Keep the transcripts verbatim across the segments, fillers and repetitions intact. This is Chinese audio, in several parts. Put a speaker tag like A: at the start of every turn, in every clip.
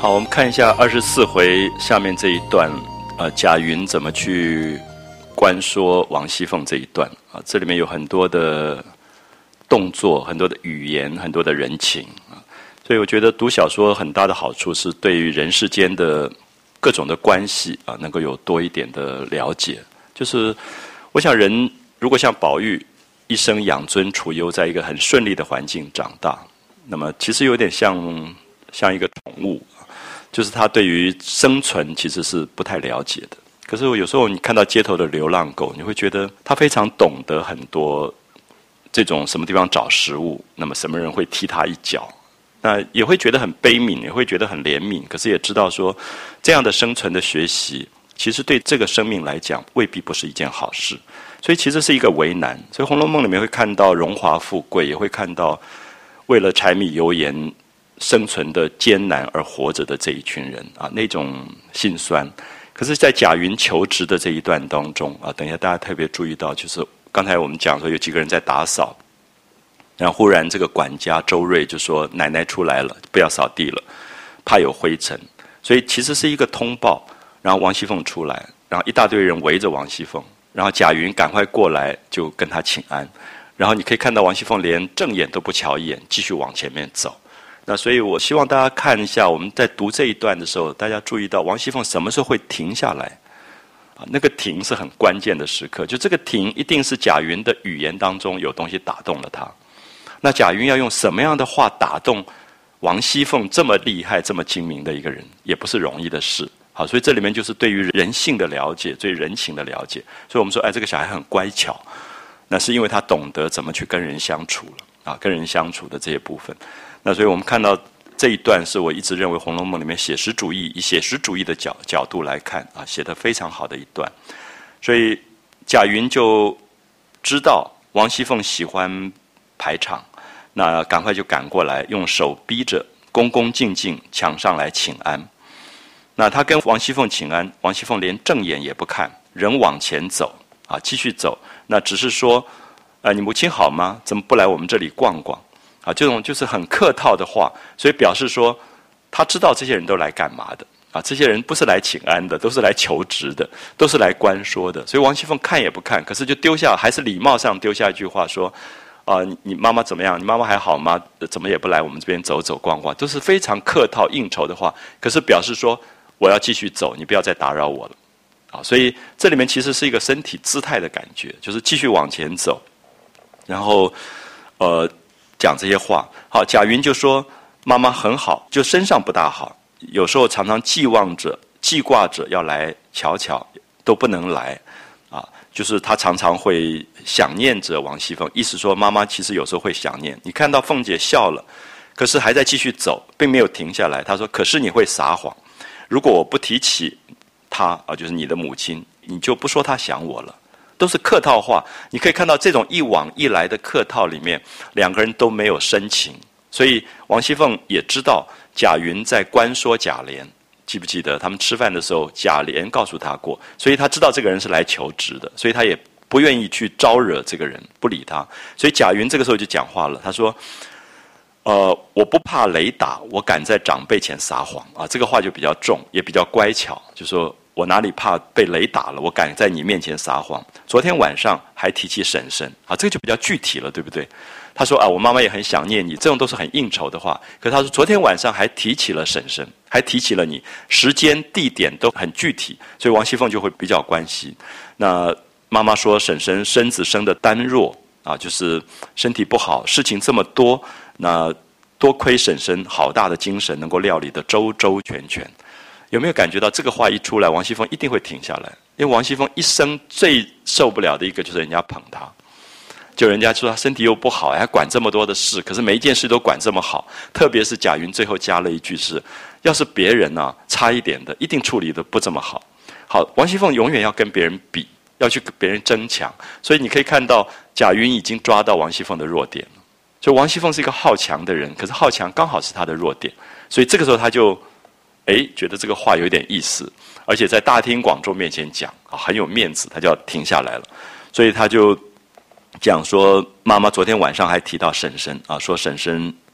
A: 好，我们看一下二十四回下面这一段，呃，贾云怎么去观说王熙凤这一段啊，这里面有很多的动作，很多的语言，很多的人情啊，所以我觉得读小说很大的好处是对于人世间的各种的关系啊，能够有多一点的了解。就是我想人如果像宝玉一生养尊处优，在一个很顺利的环境长大，那么其实有点像像一个宠物。就是他对于生存其实是不太了解的，可是有时候你看到街头的流浪狗，你会觉得他非常懂得很多这种什么地方找食物，那么什么人会踢他一脚，那也会觉得很悲悯，也会觉得很怜悯，可是也知道说这样的生存的学习其实对这个生命来讲未必不是一件好事，所以其实是一个为难。所以《红楼梦》里面会看到荣华富贵，也会看到为了柴米油盐生存的艰难而活着的这一群人啊，那种辛酸。可是在贾云求职的这一段当中啊，等一下大家特别注意到，就是刚才我们讲说有几个人在打扫，然后忽然这个管家周瑞就说奶奶出来了，不要扫地了，怕有灰尘，所以其实是一个通报。然后王熙凤出来，然后一大堆人围着王熙凤，然后贾云赶快过来就跟他请安，然后你可以看到王熙凤连正眼都不瞧一眼，继续往前面走。那所以我希望大家看一下，我们在读这一段的时候，大家注意到王熙凤什么时候会停下来啊？那个停是很关键的时刻，就这个停一定是贾云的语言当中有东西打动了他。那贾云要用什么样的话打动王熙凤这么厉害、这么精明的一个人，也不是容易的事。好，所以这里面就是对于人性的了解，对人情的了解。所以我们说，哎，这个小孩很乖巧，那是因为他懂得怎么去跟人相处了啊，跟人相处的这些部分。那所以我们看到这一段是我一直认为《红楼梦》里面写实主义以写实主义的角角度来看啊，写得非常好的一段。所以贾云就知道王熙凤喜欢排场，那赶快就赶过来，用手逼着，恭恭敬敬抢上来请安。那他跟王熙凤请安，王熙凤连正眼也不看，人往前走啊，继续走。那只是说，呃，你母亲好吗？怎么不来我们这里逛逛？啊，这种就是很客套的话，所以表示说他知道这些人都来干嘛的啊？这些人不是来请安的，都是来求职的，都是来关说的。所以王熙凤看也不看，可是就丢下，还是礼貌上丢下一句话说：“啊、呃，你你妈妈怎么样？你妈妈还好吗？怎么也不来我们这边走走逛逛？”都是非常客套应酬的话，可是表示说我要继续走，你不要再打扰我了。啊，所以这里面其实是一个身体姿态的感觉，就是继续往前走，然后呃。讲这些话，好，贾云就说妈妈很好，就身上不大好，有时候常常寄望着、记挂着要来瞧瞧，都不能来，啊，就是他常常会想念着王熙凤，意思说妈妈其实有时候会想念。你看到凤姐笑了，可是还在继续走，并没有停下来。她说：“可是你会撒谎，如果我不提起她啊，就是你的母亲，你就不说她想我了。”都是客套话，你可以看到这种一往一来的客套里面，两个人都没有深情。所以王熙凤也知道贾云在关说贾琏，记不记得他们吃饭的时候，贾琏告诉他过，所以他知道这个人是来求职的，所以他也不愿意去招惹这个人，不理他。所以贾云这个时候就讲话了，他说：“呃，我不怕雷打，我敢在长辈前撒谎啊。”这个话就比较重，也比较乖巧，就说。我哪里怕被雷打了？我敢在你面前撒谎。昨天晚上还提起婶婶啊，这个就比较具体了，对不对？他说啊，我妈妈也很想念你，这种都是很应酬的话。可是他说昨天晚上还提起了婶婶，还提起了你，时间地点都很具体，所以王熙凤就会比较关心。那妈妈说婶婶身子生的单弱啊，就是身体不好，事情这么多，那多亏婶婶好大的精神，能够料理得周周全全。有没有感觉到这个话一出来，王熙凤一定会停下来？因为王熙凤一生最受不了的一个就是人家捧她，就人家说她身体又不好，还管这么多的事，可是每一件事都管这么好。特别是贾云最后加了一句是：要是别人啊差一点的，一定处理得不这么好。好，王熙凤永远要跟别人比，要去跟别人争抢，所以你可以看到贾云已经抓到王熙凤的弱点了。所以王熙凤是一个好强的人，可是好强刚好是她的弱点，所以这个时候他就。哎，觉得这个话有点意思，而且在大庭广众面前讲啊，很有面子，他就要停下来了。所以他就讲说，妈妈昨天晚上还提到婶婶啊，说婶婶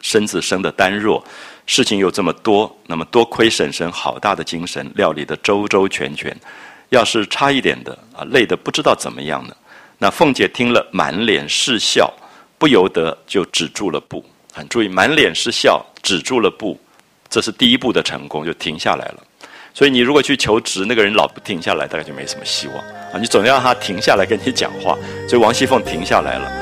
A: 身子生得单弱，事情又这么多，那么多亏婶婶好大的精神，料理得周周全全。要是差一点的啊，累得不知道怎么样呢。那凤姐听了，满脸是笑，不由得就止住了步。很注意，满脸是笑，止住了步，这是第一步的成功，就停下来了。所以你如果去求职，那个人老不停下来，大概就没什么希望啊。你总要让他停下来跟你讲话。所以王熙凤停下来了。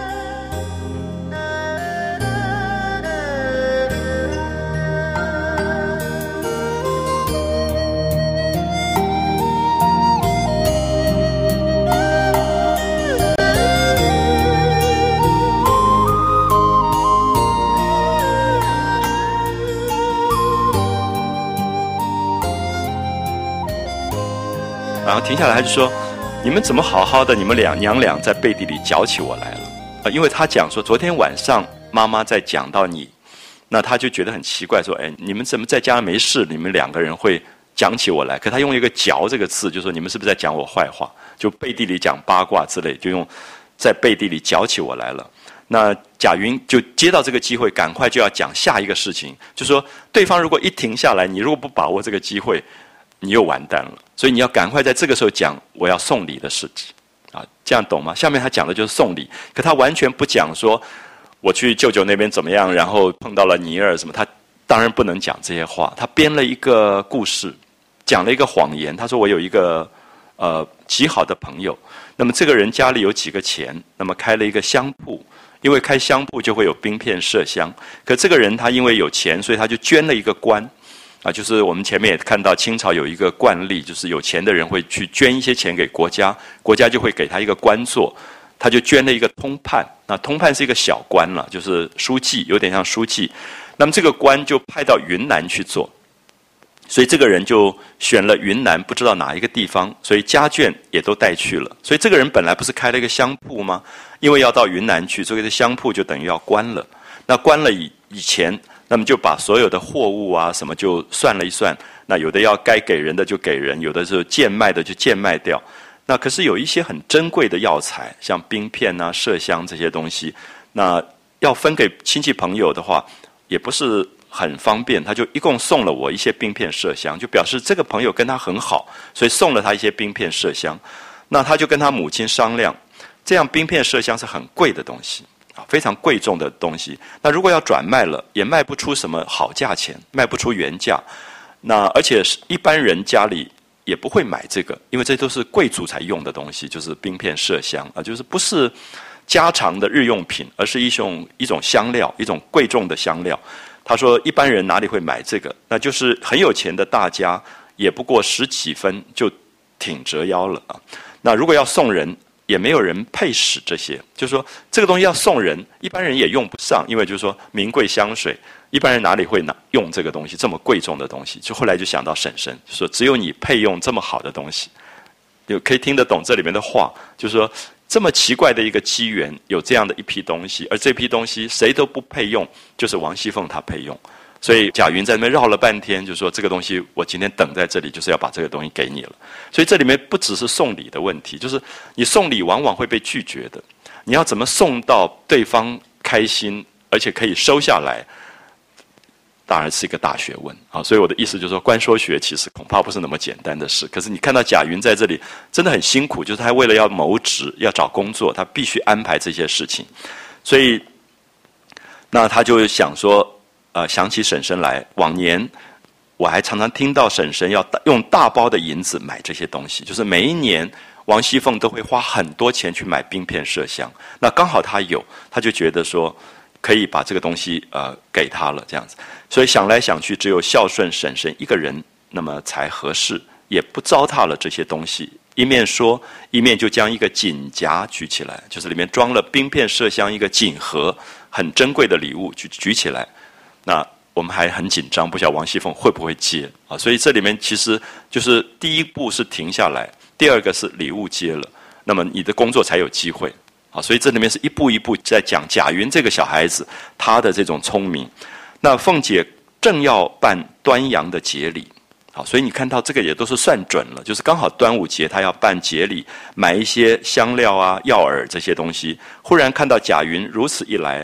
A: 然后停下来，他就说：“你们怎么好好的？你们俩娘俩在背地里搅起我来了。”啊，因为他讲说，昨天晚上妈妈在讲到你，那他就觉得很奇怪，说：“哎，你们怎么在家没事？你们两个人会讲起我来？”可他用一个“嚼”这个字，就说你们是不是在讲我坏话？就背地里讲八卦之类，就用在背地里搅起我来了。那贾云就接到这个机会，赶快就要讲下一个事情，就说对方如果一停下来，你如果不把握这个机会，你又完蛋了。所以你要赶快在这个时候讲我要送礼的事情，啊，这样懂吗？下面他讲的就是送礼，可他完全不讲说我去舅舅那边怎么样，然后碰到了尼儿什么，他当然不能讲这些话。他编了一个故事，讲了一个谎言。他说我有一个呃极好的朋友，那么这个人家里有几个钱，那么开了一个香铺，因为开香铺就会有冰片麝香，可这个人他因为有钱，所以他就捐了一个官。啊，就是我们前面也看到清朝有一个惯例，就是有钱的人会去捐一些钱给国家，国家就会给他一个官做，他就捐了一个通判。那通判是一个小官了，就是书记，有点像书记。那么这个官就派到云南去做，所以这个人就选了云南不知道哪一个地方，所以家眷也都带去了。所以这个人本来不是开了一个香铺吗？因为要到云南去，所以这香铺就等于要关了。那关了以以前。那么就把所有的货物啊什么就算了一算，那有的要该给人的就给人，有的是贱卖的就贱卖掉。那可是有一些很珍贵的药材，像冰片啊、麝香这些东西，那要分给亲戚朋友的话，也不是很方便。他就一共送了我一些冰片麝香，就表示这个朋友跟他很好，所以送了他一些冰片麝香。那他就跟他母亲商量，这样冰片麝香是很贵的东西。非常贵重的东西，那如果要转卖了，也卖不出什么好价钱，卖不出原价。那而且一般人家里也不会买这个，因为这都是贵族才用的东西，就是冰片麝香啊，就是不是家常的日用品，而是一种一种香料，一种贵重的香料。他说一般人哪里会买这个？那就是很有钱的大家，也不过十几分就挺折腰了啊。那如果要送人，也没有人配使这些，就是说这个东西要送人，一般人也用不上，因为就是说名贵香水，一般人哪里会拿用这个东西，这么贵重的东西？就后来就想到婶婶，就说只有你配用这么好的东西，有可以听得懂这里面的话，就是说这么奇怪的一个机缘，有这样的一批东西，而这批东西谁都不配用，就是王熙凤她配用。所以贾云在那边绕了半天，就说这个东西我今天等在这里，就是要把这个东西给你了。所以这里面不只是送礼的问题，就是你送礼往往会被拒绝的，你要怎么送到对方开心，而且可以收下来，当然是一个大学问啊。所以我的意思就是说，观说学其实恐怕不是那么简单的事。可是你看到贾云在这里真的很辛苦，就是他为了要谋职、要找工作，他必须安排这些事情。所以，那他就想说。呃，想起婶婶来，往年我还常常听到婶婶要用大包的银子买这些东西，就是每一年王熙凤都会花很多钱去买冰片麝香。那刚好她有，她就觉得说可以把这个东西呃给她了，这样子。所以想来想去，只有孝顺婶婶一个人，那么才合适，也不糟蹋了这些东西。一面说，一面就将一个锦夹举起来，就是里面装了冰片麝香一个锦盒，很珍贵的礼物举举起来。那我们还很紧张，不晓得王熙凤会不会接啊？所以这里面其实就是第一步是停下来，第二个是礼物接了，那么你的工作才有机会啊。所以这里面是一步一步在讲贾云这个小孩子他的这种聪明。那凤姐正要办端阳的节礼，好，所以你看到这个也都是算准了，就是刚好端午节她要办节礼，买一些香料啊、药饵这些东西。忽然看到贾云如此一来。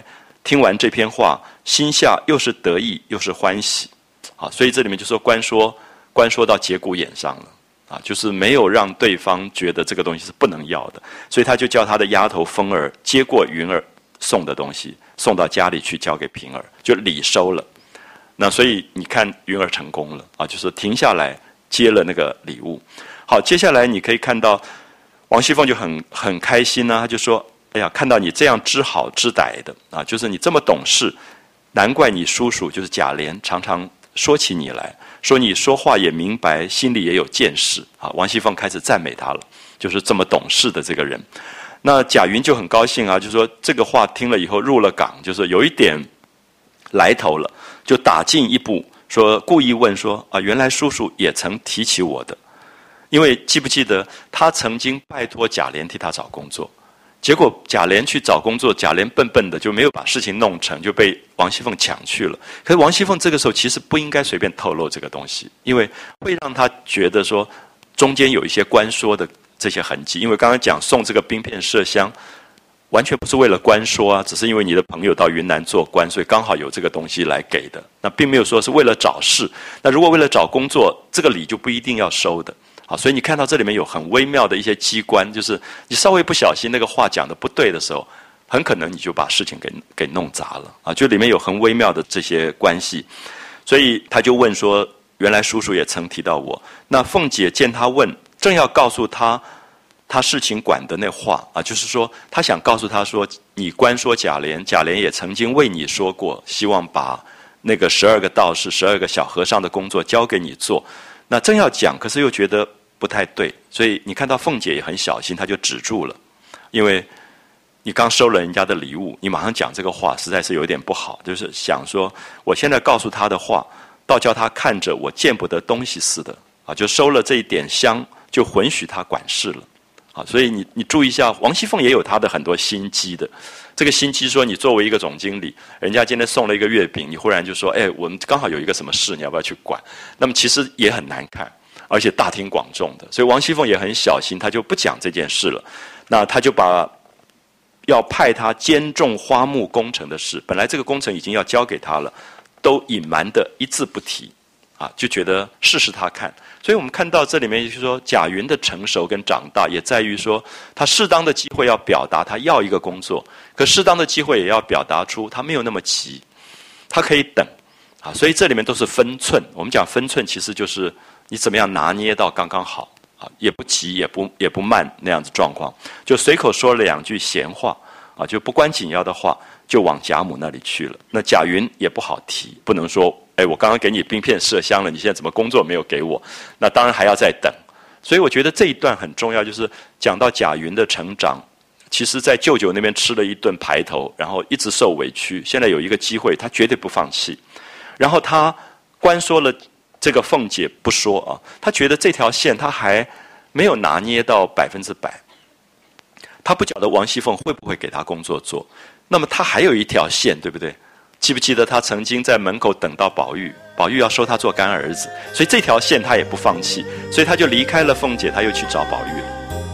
A: 听完这篇话，心下又是得意又是欢喜。啊，所以这里面就说官说，官说到节骨眼上了。啊，就是没有让对方觉得这个东西是不能要的，所以他就叫他的丫头凤儿接过云儿送的东西，送到家里去交给平儿，就礼收了。那所以你看云儿成功了啊，就是停下来接了那个礼物。好，接下来你可以看到王熙凤就很很开心啊，他就说：“哎呀，看到你这样知好知歹的啊，就是你这么懂事，难怪你叔叔就是贾琏常常说起你来。”说你说话也明白，心里也有见识啊！王熙凤开始赞美他了，就是这么懂事的这个人。那贾云就很高兴啊，就说这个话听了以后入了港，就是有一点来头了，就打进一步，说故意问说啊，原来叔叔也曾提起我的，因为记不记得他曾经拜托贾琏替他找工作。结果贾琏去找工作，贾琏笨笨的就没有把事情弄成，就被王熙凤抢去了。可是王熙凤这个时候其实不应该随便透露这个东西，因为会让他觉得说中间有一些官说的这些痕迹。因为刚刚讲送这个冰片麝香，完全不是为了官说啊，只是因为你的朋友到云南做官，所以刚好有这个东西来给的。那并没有说是为了找事。那如果为了找工作，这个礼就不一定要收的。好，所以你看到这里面有很微妙的一些机关，就是你稍微不小心那个话讲的不对的时候，很可能你就把事情给给弄砸了啊！就里面有很微妙的这些关系，所以他就问说：“原来叔叔也曾提到我。”那凤姐见他问，正要告诉他他事情管的那话啊，就是说他想告诉他说：“你官说贾琏，贾琏也曾经为你说过，希望把那个十二个道士、十二个小和尚的工作交给你做。”那正要讲，可是又觉得不太对，所以你看到凤姐也很小心，她就止住了，因为你刚收了人家的礼物，你马上讲这个话，实在是有点不好。就是想说，我现在告诉他的话，倒叫他看着我见不得东西似的啊！就收了这一点香，就允许他管事了啊！所以你你注意一下，王熙凤也有她的很多心机的。这个心机说，你作为一个总经理，人家今天送了一个月饼，你忽然就说：“哎，我们刚好有一个什么事，你要不要去管？”那么其实也很难看，而且大庭广众的。所以王熙凤也很小心，她就不讲这件事了。那她就把要派他监重花木工程的事，本来这个工程已经要交给他了，都隐瞒的一字不提，啊，就觉得试试他看。所以我们看到这里面就是说，贾云的成熟跟长大，也在于说他适当的机会要表达他要一个工作，可适当的机会也要表达出他没有那么急，他可以等，啊，所以这里面都是分寸。我们讲分寸，其实就是你怎么样拿捏到刚刚好。也不急也不也不慢那样子状况，就随口说了两句闲话啊，就不关紧要的话，就往贾母那里去了。那贾云也不好提，不能说哎，我刚刚给你冰片麝香了，你现在怎么工作没有给我？那当然还要再等。所以我觉得这一段很重要，就是讲到贾云的成长，其实在舅舅那边吃了一顿排头，然后一直受委屈，现在有一个机会，他绝对不放弃。然后他关说了。这个凤姐不说啊，她觉得这条线她还没有拿捏到百分之百，她不晓得王熙凤会不会给她工作做。那么她还有一条线，对不对？记不记得她曾经在门口等到宝玉，宝玉要收她做干儿子，所以这条线她也不放弃，所以她就离开了凤姐，她又去找宝玉了。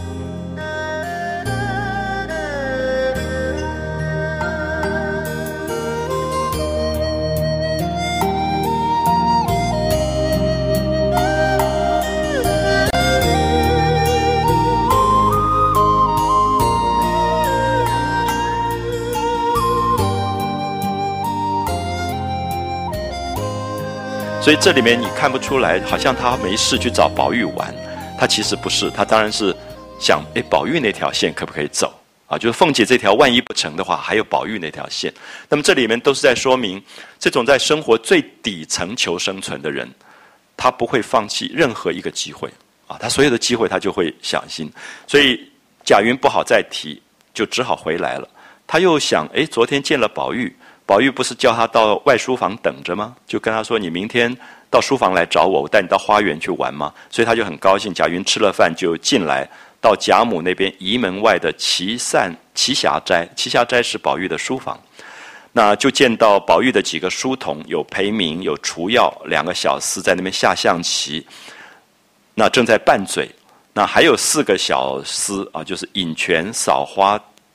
A: 所以这里面你看不出来，好像他没事去找宝玉玩，他其实不是，他当然是想，哎，宝玉那条线可不可以走啊？就是凤姐这条万一不成的话，还有宝玉那条线。那么这里面都是在说明，这种在生活最底层求生存的人，他不会放弃任何一个机会啊，他所有的机会他就会小心。所以贾云不好再提，就只好回来了。他又想，哎，昨天见了宝玉。宝玉不是叫他到外书房等着吗？就跟他说：“你明天到书房来找我，我带你到花园去玩吗？”所以他就很高兴。贾云吃了饭就进来，到贾母那边仪门外的奇散奇霞斋，奇霞斋是宝玉的书房。那就见到宝玉的几个书童，有裴明，有除药，两个小厮在那边下象棋，那正在拌嘴。那还有四个小厮啊，就是引泉、扫花、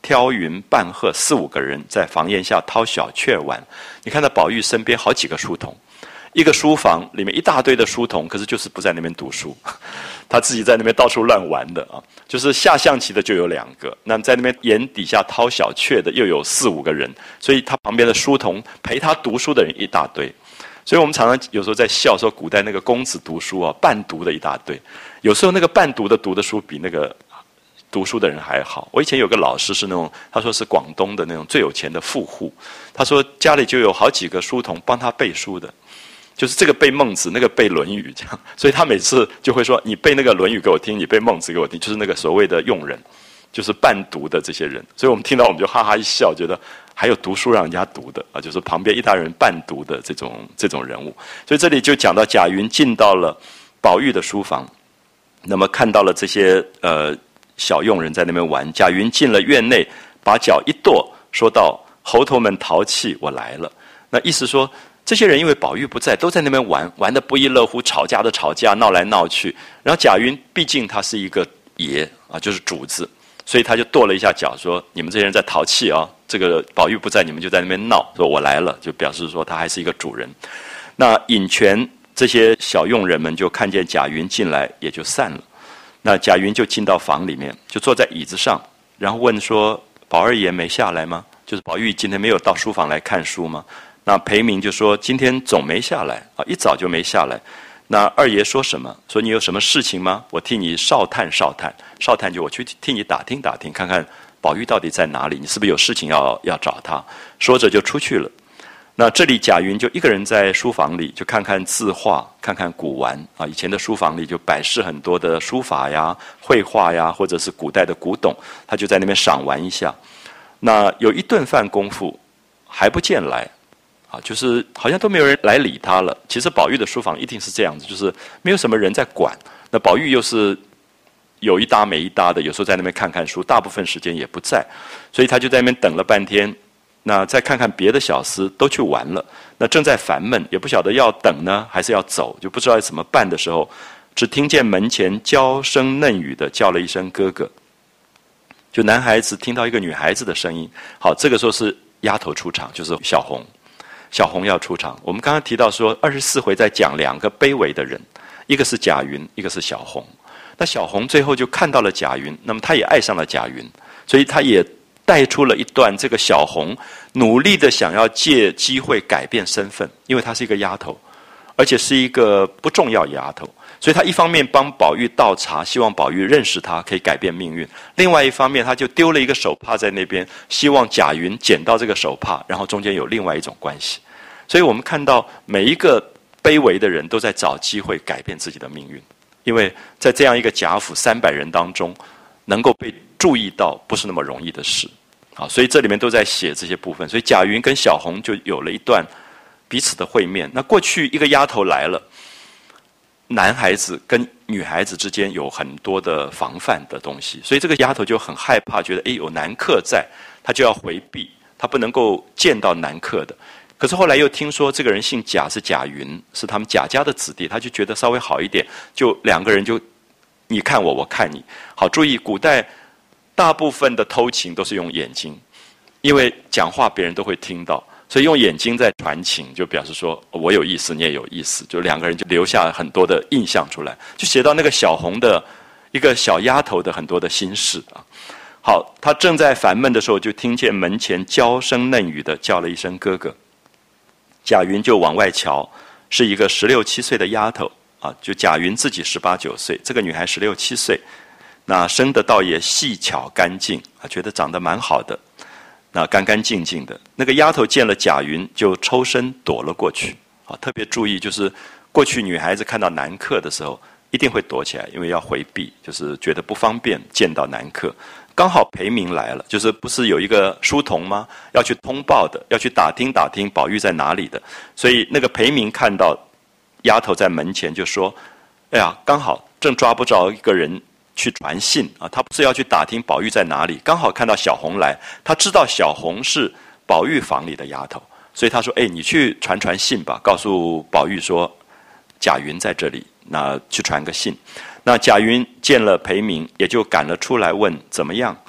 A: 挑云、半鹤四五个人在房檐下掏小雀玩。你看到宝玉身边好几个书童，一个书房里面一大堆的书童，可是就是不在那边读书，他自己在那边到处乱玩的啊。就是下象棋的就有两个，那么在那边檐底下掏小雀的又有四五个人，所以他旁边的书童陪他读书的人一大堆。所以我们常常有时候在笑说，古代那个公子读书啊，伴读的一大堆。有时候那个伴读的读的书比那个读书的人还好。我以前有个老师是那种，他说是广东的那种最有钱的富户，他说家里就有好几个书童帮他背书的，就是这个背孟子，那个背论语这样。所以他每次就会说，你背那个论语给我听，你背孟子给我听，就是那个所谓的用人，就是伴读的这些人。所以我们听到我们就哈哈一笑，觉得还有读书让人家读的啊，就是旁边一大人伴读的这种这种人物。所以这里就讲到贾云进到了宝玉的书房，那么看到了这些呃小佣人在那边玩。贾云进了院内，把脚一跺，说道：“猴头们淘气，我来了。”那意思说，这些人因为宝玉不在，都在那边玩，玩得不亦乐乎，吵架的吵架，闹来闹去。然后贾云毕竟他是一个爷啊，就是主子，所以他就跺了一下脚，说：“你们这些人在淘气啊！这个宝玉不在，你们就在那边闹，说我来了，就表示说他还是一个主人。”那引泉这些小佣人们就看见贾云进来，也就散了。那贾云就进到房里面，就坐在椅子上，然后问说：“宝二爷没下来吗？就是宝玉今天没有到书房来看书吗？”那裴明就说：“今天总没下来啊，一早就没下来。”那二爷说什么？说你有什么事情吗？我替你哨探哨探，哨探就我去替你打听打听，看看宝玉到底在哪里？你是不是有事情要要找他？说着就出去了。那这里贾云就一个人在书房里，就看看字画，看看古玩啊。以前的书房里就摆设很多的书法呀、绘画呀，或者是古代的古董，他就在那边赏玩一下。那有一顿饭功夫还不见来。啊，就是好像都没有人来理他了。其实宝玉的书房一定是这样子，就是没有什么人在管。那宝玉又是有一搭没一搭的，有时候在那边看看书，大部分时间也不在，所以他就在那边等了半天。那再看看别的小厮都去玩了，那正在烦闷，也不晓得要等呢还是要走，就不知道怎么办的时候，只听见门前娇声嫩语的叫了一声哥哥。就男孩子听到一个女孩子的声音，好，这个时候是丫头出场，就是小红。小红要出场。我们刚刚提到说，二十四回在讲两个卑微的人，一个是贾云，一个是小红。那小红最后就看到了贾云，那么她也爱上了贾云，所以她也带出了一段这个小红努力的想要借机会改变身份，因为她是一个丫头，而且是一个不重要丫头，所以她一方面帮宝玉倒茶，希望宝玉认识她，可以改变命运；另外一方面，她就丢了一个手帕在那边，希望贾云捡到这个手帕，然后中间有另外一种关系。所以我们看到每一个卑微的人都在找机会改变自己的命运，因为在这样一个贾府三百人当中，能够被注意到不是那么容易的事啊。所以这里面都在写这些部分。所以贾云跟小红就有了一段彼此的会面。那过去一个丫头来了，男孩子跟女孩子之间有很多的防范的东西，所以这个丫头就很害怕，觉得诶有男客在，她就要回避，她不能够见到男客的。可是后来又听说这个人姓贾，是贾云，是他们贾家的子弟，他就觉得稍微好一点，就两个人就你看我，我看你。好，注意古代大部分的偷情都是用眼睛，因为讲话别人都会听到，所以用眼睛在传情，就表示说我有意思，你也有意思，就两个人就留下很多的印象出来，就写到那个小红的一个小丫头的很多的心事啊。好，她正在烦闷的时候，就听见门前娇声嫩语的叫了一声哥哥。贾云就往外瞧，是一个十六七岁的丫头啊，就贾云自己十八九岁，这个女孩十六七岁，那生得倒也细巧干净啊，觉得长得蛮好的，那干干净净的。那个丫头见了贾云，就抽身躲了过去啊。特别注意，就是过去女孩子看到男客的时候，一定会躲起来，因为要回避，就是觉得不方便见到男客。刚好裴明来了，就是不是有一个书童吗？要去通报的，要去打听打听宝玉在哪里的。所以那个裴明看到丫头在门前，就说：“哎呀，刚好正抓不着一个人去传信啊，他不是要去打听宝玉在哪里，刚好看到小红来，他知道小红是宝玉房里的丫头，所以他说：‘哎，你去传传信吧，告诉宝玉说贾云在这里，那去传个信。’那贾云见了裴明，也就赶了出来问怎么样。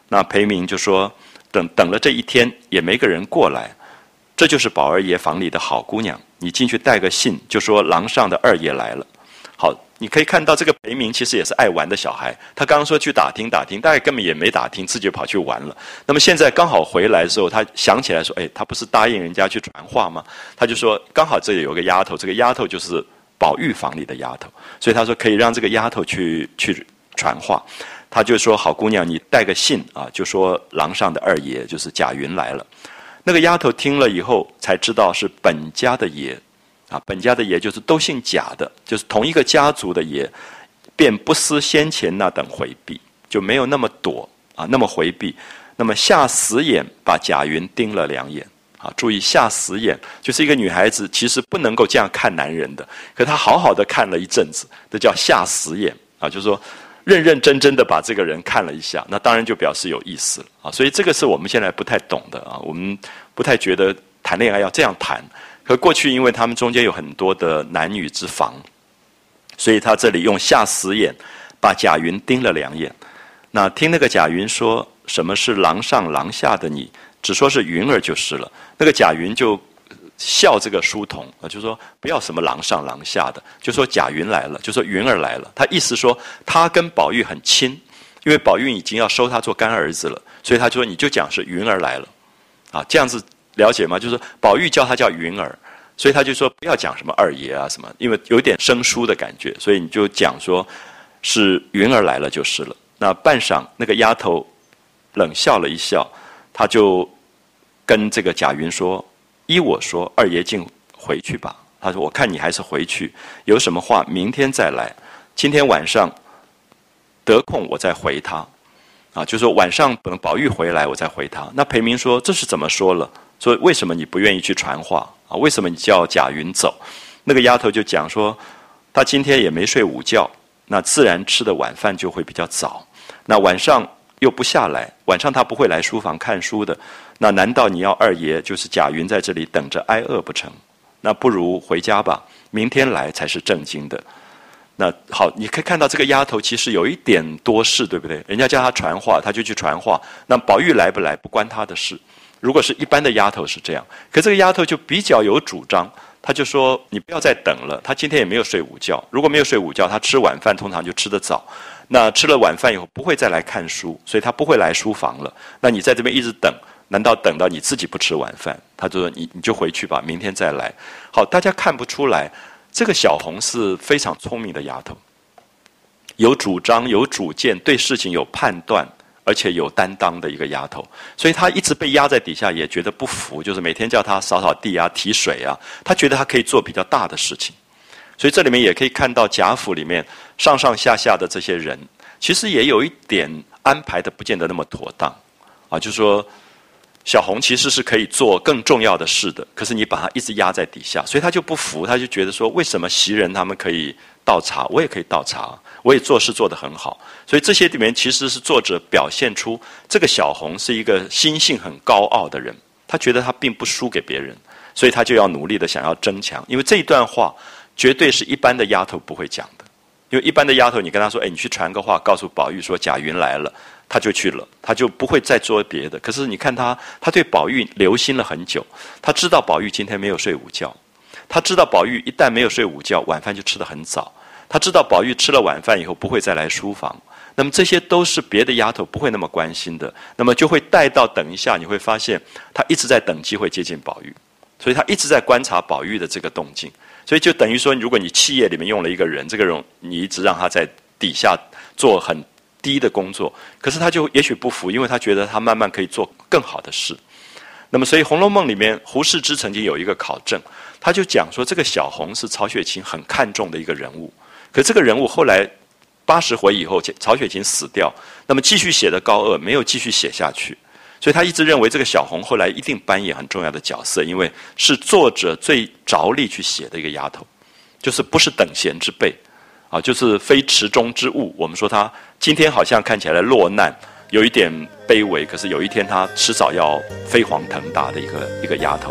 A: 那裴明就说，等等了这一天也没个人过来，这就是宝二爷房里的好姑娘，你进去带个信，就说廊上的二爷来了。好，你可以看到这个裴明其实也是爱玩的小孩，他刚刚说去打听打听，大概根本也没打听，自己就跑去玩了。那么现在刚好回来的时候，他想起来说，哎，他不是答应人家去传话吗？他就说，刚好这里有个丫头，这个丫头就是宝玉房里的丫头，所以他说可以让这个丫头去去传话。他就说，好姑娘，你带个信啊，就说廊上的二爷就是贾云来了。那个丫头听了以后才知道是本家的爷。啊，本家的爷就是都姓贾的，就是同一个家族的爷，便不思先前那等回避，就没有那么躲啊，那么回避，那么下死眼把贾云盯了两眼啊。注意下死眼，就是一个女孩子其实不能够这样看男人的，可她好好的看了一阵子，这叫下死眼啊，就是说认认真真的把这个人看了一下，那当然就表示有意思了啊。所以这个是我们现在不太懂的啊，我们不太觉得谈恋爱要这样谈。可过去因为他们中间有很多的男女之防，所以他这里用下死眼把贾云盯了两眼。那听那个贾云说什么是廊上廊下的你，只说是云儿就是了。那个贾云就笑这个书童啊，就说不要什么廊上廊下的，就说贾云来了，就说云儿来了。他意思说他跟宝玉很亲，因为宝玉已经要收他做干儿子了，所以他就说你就讲是云儿来了啊，这样子。了解吗？就是宝玉叫他叫云儿，所以他就说不要讲什么二爷啊什么，因为有点生疏的感觉，所以你就讲说是云儿来了就是了。那半晌，那个丫头冷笑了一笑，他就跟这个贾云说：“依我说，二爷竟回去吧。”他说：“我看你还是回去，有什么话明天再来，今天晚上得空我再回他。”啊，就说晚上等宝玉回来我再回他。那裴明说：“这是怎么说了？说为什么你不愿意去传话啊？为什么你叫贾云走？”那个丫头就讲说，她今天也没睡午觉，那自然吃的晚饭就会比较早。那晚上又不下来，晚上她不会来书房看书的。那难道你要二爷就是贾云在这里等着挨饿不成？那不如回家吧，明天来才是正经的。那好，你可以看到这个丫头其实有一点多事，对不对？人家叫她传话，她就去传话。那宝玉来不来不关她的事。如果是一般的丫头是这样，可这个丫头就比较有主张，她就说你不要再等了。她今天也没有睡午觉，如果没有睡午觉，她吃晚饭通常就吃得早。那吃了晚饭以后不会再来看书，所以她不会来书房了。那你在这边一直等，难道等到你自己不吃晚饭？她就说你你就回去吧，明天再来。好，大家看不出来。这个小红是非常聪明的丫头，有主张、有主见，对事情有判断，而且有担当的一个丫头。所以她一直被压在底下，也觉得不服，就是每天叫她扫扫地啊、提水啊，她觉得她可以做比较大的事情。所以这里面也可以看到贾府里面上上下下的这些人，其实也有一点安排的不见得那么妥当啊，就是说。小红其实是可以做更重要的事的，可是你把她一直压在底下，所以她就不服，她就觉得说，为什么袭人他们可以倒茶，我也可以倒茶，我也做事做得很好。所以这些里面其实是作者表现出这个小红是一个心性很高傲的人，她觉得她并不输给别人，所以她就要努力的想要争强。因为这一段话绝对是一般的丫头不会讲的，因为一般的丫头你跟她说，哎，你去传个话告诉宝玉说贾云来了。他就去了，他就不会再做别的。可是你看他，他对宝玉留心了很久，他知道宝玉今天没有睡午觉，他知道宝玉一旦没有睡午觉，晚饭就吃得很早，他知道宝玉吃了晚饭以后不会再来书房。那么这些都是别的丫头不会那么关心的，那么就会带到等一下你会发现，他一直在等机会接近宝玉，所以他一直在观察宝玉的这个动静。所以就等于说，如果你企业里面用了一个人，这个人你一直让他在底下做很低的工作，可是他就也许不服，因为他觉得他慢慢可以做更好的事。那么所以《红楼梦》里面胡适之曾经有一个考证，他就讲说这个小红是曹雪芹很看重的一个人物，可这个人物后来八十回以后曹雪芹死掉，那么继续写的高鹗没有继续写下去，所以他一直认为这个小红后来一定扮演很重要的角色，因为是作者最着力去写的一个丫头，就是不是等闲之辈啊，就是非池中之物。我们说他今天好像看起来落难，有一点卑微，可是有一天他迟早要飞黄腾达的一个一个丫头。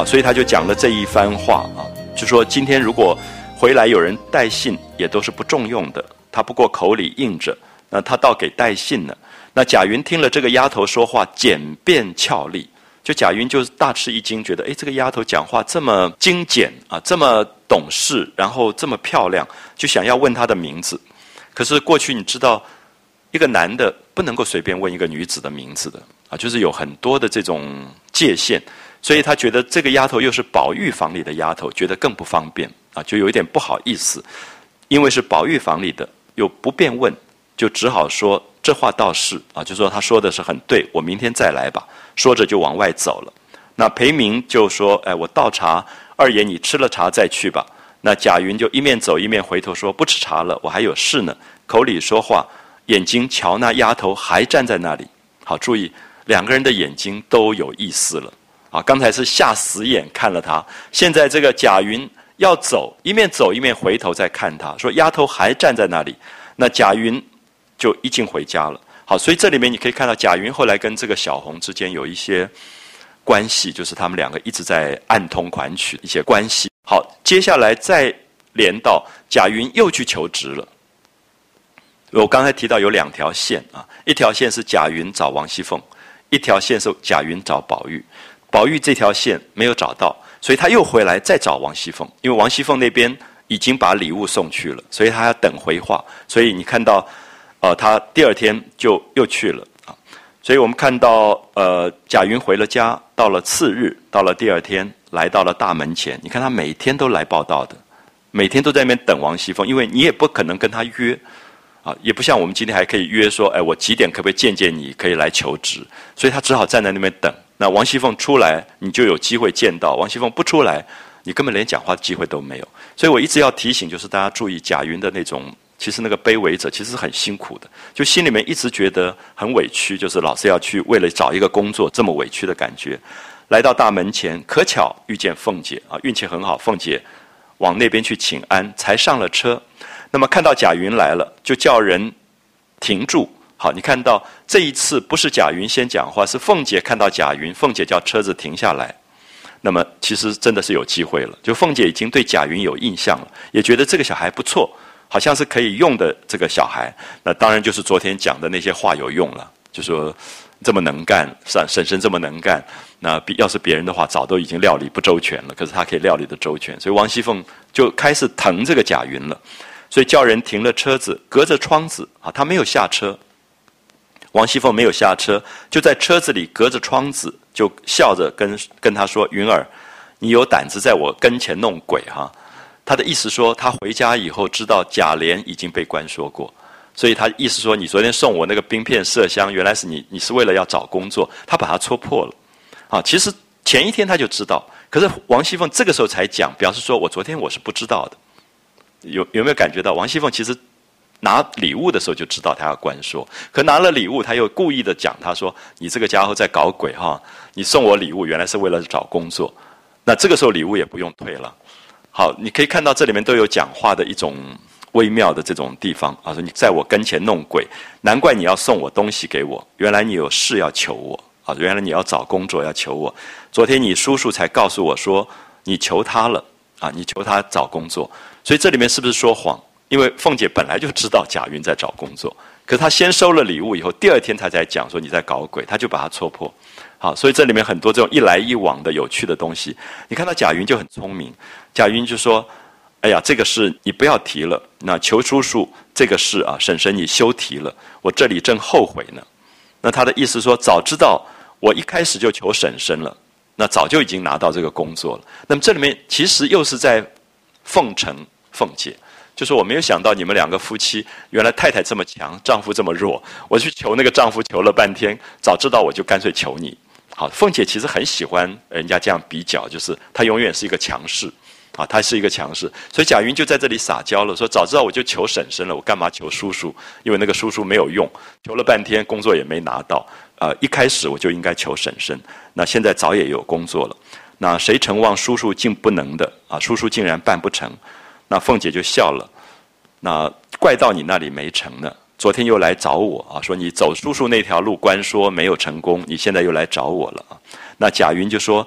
A: 好，所以他就讲了这一番话啊，就说今天如果回来有人带信，也都是不中用的，他不过口里应着，那他倒给带信了。那贾云听了这个丫头说话简便俏丽，就贾云就大吃一惊，觉得哎，这个丫头讲话这么精简啊，这么懂事，然后这么漂亮，就想要问她的名字。可是过去你知道，一个男的不能够随便问一个女子的名字的啊，就是有很多的这种界限，所以他觉得这个丫头又是宝玉房里的丫头，觉得更不方便啊，就有一点不好意思，因为是宝玉房里的，又不便问，就只好说这话倒是啊，就说他说的是很对，我明天再来吧。说着就往外走了。那裴明就说：“哎，我倒茶，二爷你吃了茶再去吧。”那贾云就一面走一面回头说：“不吃茶了，我还有事呢。”口里说话，眼睛瞧那丫头还站在那里。好，注意两个人的眼睛都有意思了啊！刚才是下死眼看了他，现在这个贾云要走，一面走一面回头再看他，说丫头还站在那里。那贾云就一进回家了。好，所以这里面你可以看到贾云后来跟这个小红之间有一些关系，就是他们两个一直在暗通款曲一些关系。好，接下来再连到贾云又去求职了。我刚才提到有两条线啊，一条线是贾云找王熙凤，一条线是贾云找宝玉。宝玉这条线没有找到，所以他又回来再找王熙凤，因为王熙凤那边已经把礼物送去了，所以他要等回话。所以你看到呃，他第二天就又去了啊，所以我们看到呃，贾云回了家，到了次日，到了第二天，来到了大门前。你看他每天都来报道的，每天都在那边等王熙凤，因为你也不可能跟他约啊，也不像我们今天还可以约说，哎，我几点可不可以见见你，可以来求职？所以他只好站在那边等。那王熙凤出来，你就有机会见到；王熙凤不出来，你根本连讲话的机会都没有。所以我一直要提醒，就是大家注意贾云的那种。其实那个卑微者其实是很辛苦的，就心里面一直觉得很委屈，就是老是要去为了找一个工作这么委屈的感觉。来到大门前，可巧遇见凤姐啊，运气很好，凤姐往那边去请安，才上了车。那么看到贾云来了，就叫人停住。好，你看到这一次不是贾云先讲话，是凤姐看到贾云，凤姐叫车子停下来。那么其实真的是有机会了，就凤姐已经对贾云有印象了，也觉得这个小孩不错。好像是可以用的这个小孩，那当然就是昨天讲的那些话有用了，就说这么能干，婶婶婶这么能干，那比要是别人的话，早都已经料理不周全了。可是他可以料理的周全，所以王熙凤就开始疼这个贾云了，所以叫人停了车子，隔着窗子啊，他没有下车。王熙凤没有下车，就在车子里隔着窗子，就笑着跟跟他说：“云儿，你有胆子在我跟前弄鬼哈！”他的意思说，他回家以后知道贾琏已经被关说过，所以他意思说，你昨天送我那个冰片麝香，原来是你，你是为了要找工作，他把他戳破了。啊，其实前一天他就知道，可是王熙凤这个时候才讲，表示说我昨天我是不知道的。有有没有感觉到，王熙凤其实拿礼物的时候就知道他要关说，可拿了礼物，他又故意的讲，他说你这个家伙在搞鬼哈，你送我礼物原来是为了找工作，那这个时候礼物也不用退了。好，你可以看到这里面都有讲话的一种微妙的这种地方啊，说你在我跟前弄鬼，难怪你要送我东西给我，原来你有事要求我啊，原来你要找工作要求我。昨天你叔叔才告诉我说你求他了啊，你求他找工作，所以这里面是不是说谎？因为凤姐本来就知道贾云在找工作，可是她先收了礼物以后，第二天她才讲说你在搞鬼，她就把他戳破。好，所以这里面很多这种一来一往的有趣的东西。你看到贾云就很聪明，贾云就说：“哎呀，这个事你不要提了。那求叔叔这个事啊，婶婶你休提了，我这里正后悔呢。”那他的意思说，早知道我一开始就求婶婶了，那早就已经拿到这个工作了。那么这里面其实又是在奉承凤姐。就是我没有想到你们两个夫妻原来太太这么强，丈夫这么弱，我去求那个丈夫求了半天，早知道我就干脆求你。好，凤姐其实很喜欢人家这样比较，就是她永远是一个强势啊，她是一个强势，所以贾云就在这里撒娇了，说早知道我就求婶婶了，我干嘛求叔叔？因为那个叔叔没有用，求了半天工作也没拿到，呃，一开始我就应该求婶婶，那现在早也有工作了，那谁承望叔叔竟不能的啊？叔叔竟然办不成，那凤姐就笑了，那怪到你那里没成呢。昨天又来找我啊，说你走叔叔那条路关说没有成功，你现在又来找我了啊。那贾云就说，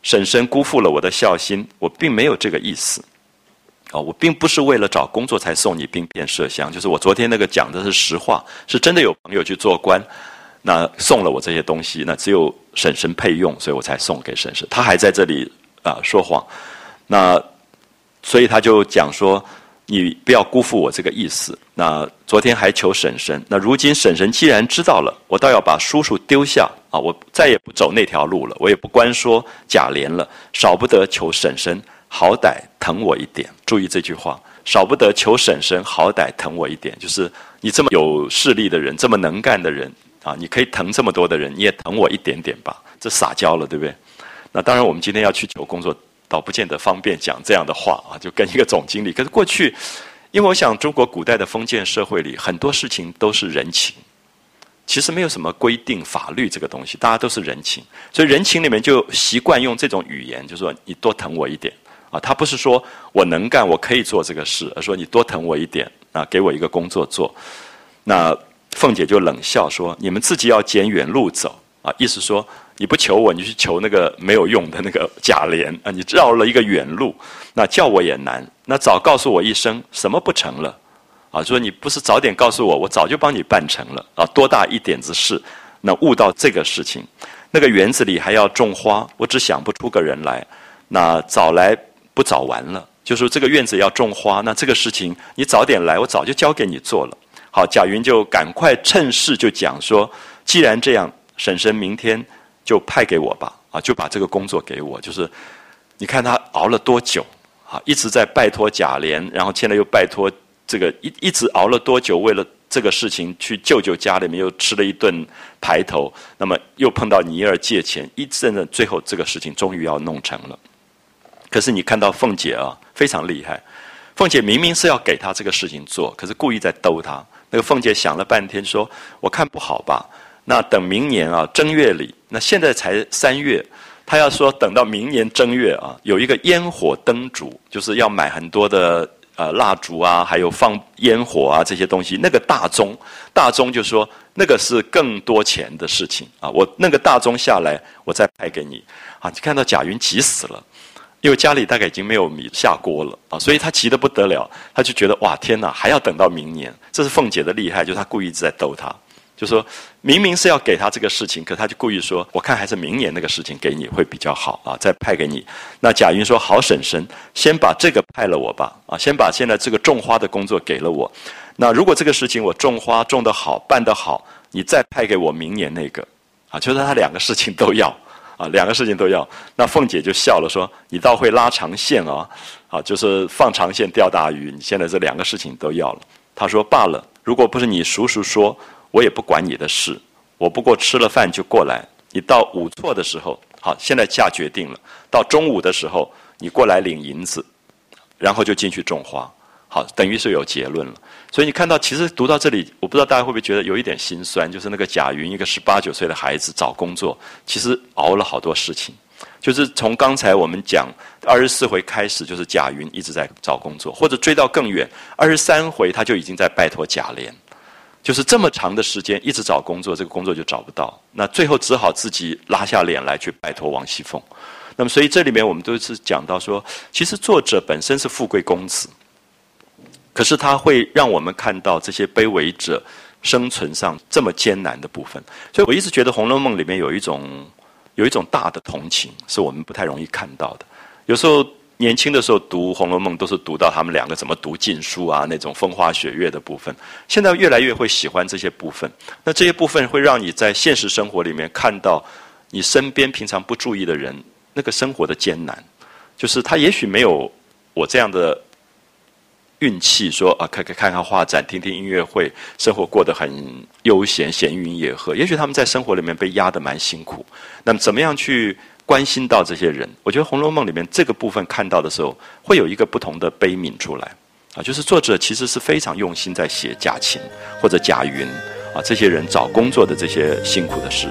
A: 婶婶辜负了我的孝心，我并没有这个意思。哦，我并不是为了找工作才送你冰片麝香，就是我昨天那个讲的是实话，是真的有朋友去做官，那送了我这些东西，那只有婶婶配用，所以我才送给婶婶。他还在这里啊、呃、说谎，那所以他就讲说，你不要辜负我这个意思。那昨天还求婶婶，那如今婶婶既然知道了，我倒要把叔叔丢下啊，我再也不走那条路了，我也不关说贾琏了，少不得求婶婶好歹疼我一点。注意这句话，少不得求婶婶好歹疼我一点，就是你这么有势力的人，这么能干的人啊，你可以疼这么多的人，你也疼我一点点吧，这撒娇了，对不对？那当然我们今天要去求工作，倒不见得方便讲这样的话啊，就跟一个总经理。可是过去，因为我想中国古代的封建社会里，很多事情都是人情，其实没有什么规定法律这个东西，大家都是人情，所以人情里面就习惯用这种语言，就说你多疼我一点啊。他不是说我能干，我可以做这个事，而说你多疼我一点啊，给我一个工作做。那凤姐就冷笑说：“你们自己要捡远路走啊！”意思说你不求我，你去求那个没有用的那个贾琏啊！你绕了一个远路，那叫我也难。那早告诉我一声，什么不成了？啊，说你不是早点告诉我，我早就帮你办成了啊！多大一点子事，那悟到这个事情，那个园子里还要种花，我只想不出个人来。那早来不早完了，就说这个院子要种花，那这个事情你早点来，我早就交给你做了。好，贾云就赶快趁势就讲说，既然这样，婶婶明天就派给我吧，啊，就把这个工作给我。就是你看他熬了多久啊，一直在拜托贾琏，然后现在又拜托这个一一直熬了多久，为了这个事情去舅舅家里面又吃了一顿排头，那么又碰到尼儿借钱，一阵的最后这个事情终于要弄成了。可是你看到凤姐啊，非常厉害。凤姐明明是要给他这个事情做，可是故意在逗他。那个凤姐想了半天说，我看不好吧，那等明年啊正月里，那现在才三月，他要说等到明年正月啊，有一个烟火灯烛，就是要买很多的呃蜡烛啊，还有放烟火啊这些东西。那个大钟，大钟就说那个是更多钱的事情啊，我那个大钟下来，我再派给你啊。你看到贾云急死了。因为家里大概已经没有米下锅了啊，所以他急得不得了，他就觉得哇天哪，还要等到明年。这是凤姐的厉害，就是他故意一直在逗他，就说明明是要给他这个事情，可他就故意说，我看还是明年那个事情给你会比较好啊，再派给你。那贾云说，好婶婶，先把这个派了我吧，啊，先把现在这个种花的工作给了我。那如果这个事情我种花种得好，办得好，你再派给我明年那个，啊，就是他两个事情都要。啊，两个事情都要。那凤姐就笑了，说：“你倒会拉长线啊！啊，就是放长线钓大鱼。你现在这两个事情都要了。”她说：“罢了，如果不是你叔叔说，我也不管你的事。我不过吃了饭就过来。你到午错的时候，好，现在下决定了。到中午的时候，你过来领银子，然后就进去种花。好，等于是有结论了。所以你看到，其实读到这里，我不知道大家会不会觉得有一点心酸，就是那个贾云一个十八九岁的孩子找工作，其实熬了好多事情。就是从刚才我们讲二十四回开始，就是贾云一直在找工作，或者追到更远，二十三回他就已经在拜托贾琏，就是这么长的时间一直找工作，这个工作就找不到，那最后只好自己拉下脸来去拜托王熙凤。那么所以这里面我们都是讲到说，其实作者本身是富贵公子。可是他会让我们看到这些卑微者生存上这么艰难的部分，所以我一直觉得《红楼梦》里面有一种有一种大的同情，是我们不太容易看到的。有时候年轻的时候读《红楼梦》，都是读到他们两个怎么读禁书啊，那种风花雪月的部分。现在越来越会喜欢这些部分，那这些部分会让你在现实生活里面看到你身边平常不注意的人那个生活的艰难，就是他也许没有我这样的运气说啊，看看看看画展，听听音乐会，生活过得很悠闲，闲云野鹤。也许他们在生活里面被压得蛮辛苦。那么怎么样去关心到这些人？我觉得《红楼梦》里面这个部分看到的时候，会有一个不同的悲悯出来啊，就是作者其实是非常用心在写贾芹或者贾云啊这些人找工作的这些辛苦的事。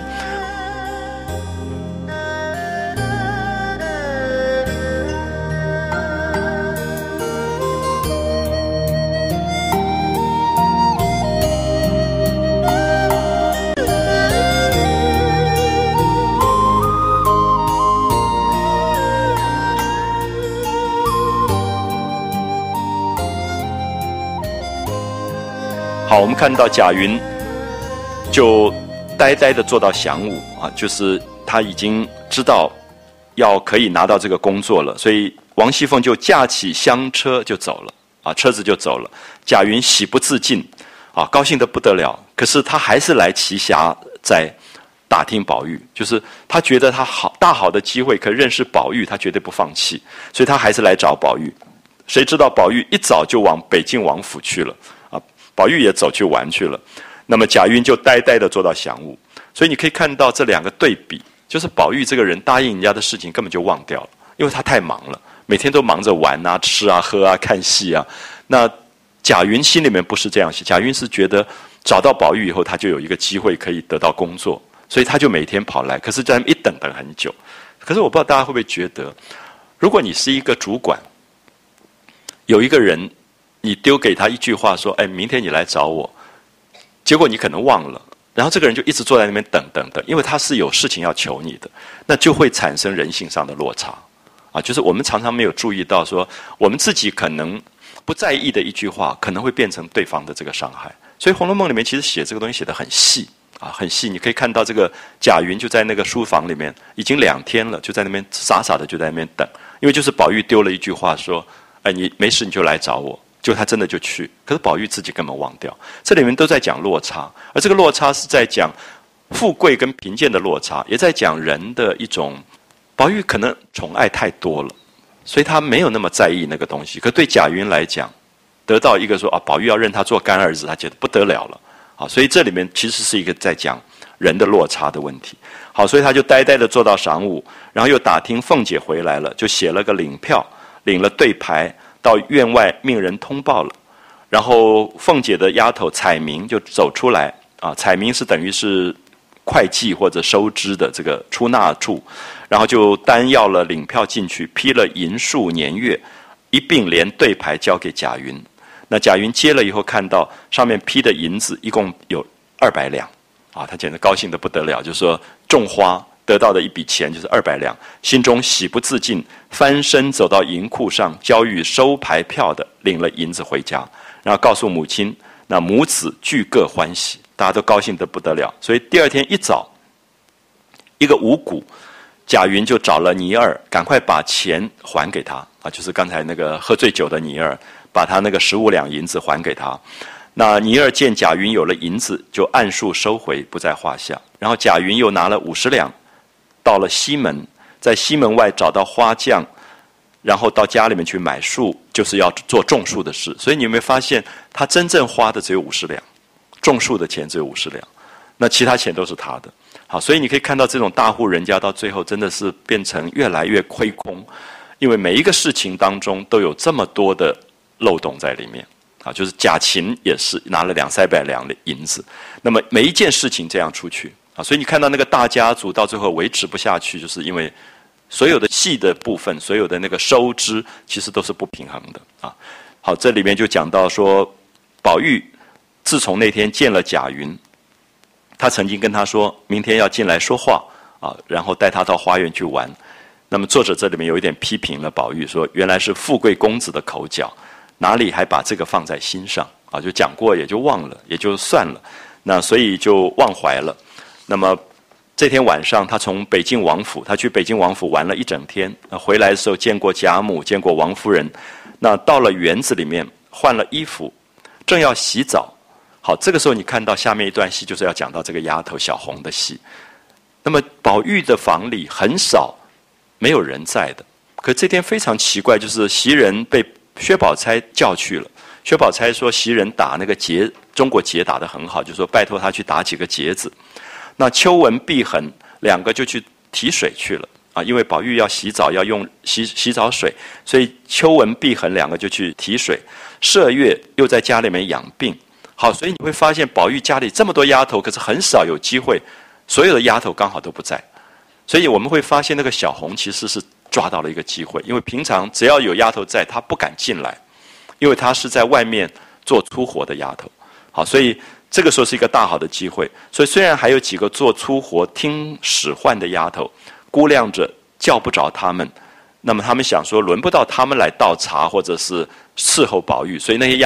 A: 好，我们看到贾云就呆呆的坐到晌午啊，就是他已经知道要可以拿到这个工作了，所以王熙凤就驾起香车就走了啊，车子就走了。贾云喜不自禁啊，高兴得不得了。可是他还是来栖霞在打听宝玉，就是他觉得他好大好的机会可以认识宝玉，他绝对不放弃，所以他还是来找宝玉。谁知道宝玉一早就往北静王府去了啊，宝玉也走去玩去了。那么贾云就呆呆地坐到晌午，所以你可以看到这两个对比，就是宝玉这个人答应人家的事情根本就忘掉了，因为他太忙了，每天都忙着玩啊、吃啊、喝啊、看戏啊。那贾云心里面不是这样想，贾云是觉得找到宝玉以后，他就有一个机会可以得到工作，所以他就每天跑来，可是在那边一等等很久。可是我不知道大家会不会觉得，如果你是一个主管，有一个人你丢给他一句话说，哎，明天你来找我，结果你可能忘了，然后这个人就一直坐在那边等等等，因为他是有事情要求你的，那就会产生人性上的落差啊。就是我们常常没有注意到说，我们自己可能不在意的一句话，可能会变成对方的这个伤害。所以《红楼梦》里面其实写这个东西写得很细啊，很细。你可以看到这个贾云就在那个书房里面，已经两天了，就在那边傻傻的就在那边等，因为就是宝玉丢了一句话说，哎，你没事你就来找我。就他真的就去，可是宝玉自己根本忘掉。这里面都在讲落差，而这个落差是在讲富贵跟贫贱的落差，也在讲人的一种。宝玉可能宠爱太多了，所以他没有那么在意那个东西。可对贾云来讲，得到一个说啊，宝玉要认他做干儿子，他觉得不得了了。好，所以这里面其实是一个在讲人的落差的问题。好，所以他就呆呆的坐到晌午，然后又打听凤姐回来了，就写了个领票，领了对牌。到院外命人通报了，然后凤姐的丫头彩明就走出来啊，彩明是等于是会计或者收支的这个出纳处，然后就单要了领票进去，批了银数年月，一并连对牌交给贾云。那贾云接了以后，看到上面批的银子一共有二百两啊，他简直高兴得不得了，就是说种花。得到的一笔钱就是二百两，心中喜不自禁，翻身走到银库上，交予收牌票的，领了银子回家，然后告诉母亲，那母子俱各欢喜，大家都高兴得不得了。所以第二天一早，一个五谷，贾云就找了尼儿，赶快把钱还给他啊，就是刚才那个喝醉酒的尼儿，把他那个十五两银子还给他。那尼儿见贾云有了银子，就按数收回，不在话下。然后贾云又拿了五十两。到了西门，在西门外找到花匠，然后到家里面去买树，就是要做种树的事。所以你有没有发现，他真正花的只有五十两，种树的钱只有五十两，那其他钱都是他的。好，所以你可以看到这种大户人家到最后真的是变成越来越亏空，因为每一个事情当中都有这么多的漏洞在里面。啊，就是贾芹也是拿了两三百两的银子，那么每一件事情这样出去。啊，所以你看到那个大家族到最后维持不下去，就是因为所有的戏的部分，所有的那个收支其实都是不平衡的啊。好，这里面就讲到说，宝玉自从那天见了贾云，他曾经跟他说明天要进来说话啊，然后带他到花园去玩。那么作者这里面有一点批评了宝玉，说原来是富贵公子的口角，哪里还把这个放在心上啊？就讲过也就忘了，也就算了，那所以就忘怀了。那么这天晚上，他从北静王府，他去北静王府玩了一整天。那回来的时候，见过贾母，见过王夫人。那到了园子里面，换了衣服，正要洗澡。好，这个时候你看到下面一段戏，就是要讲到这个丫头小红的戏。那么宝玉的房里很少没有人在的，可这天非常奇怪，就是袭人被薛宝钗叫去了。薛宝钗说袭人打那个结，中国结打得很好，就说拜托她去打几个结子。那秋文、碧痕两个就去提水去了啊，因为宝玉要洗澡要用洗洗澡水，所以秋文、碧痕两个就去提水。麝月又在家里面养病。好，所以你会发现宝玉家里这么多丫头，可是很少有机会，所有的丫头刚好都不在，所以我们会发现那个小红其实是抓到了一个机会，因为平常只要有丫头在，她不敢进来，因为她是在外面做粗活的丫头。好，所以这个时候是一个大好的机会。所以虽然还有几个做粗活听使唤的丫头估量着叫不着他们，那么他们想说轮不到他们来倒茶或者是伺候宝玉，所以那些丫头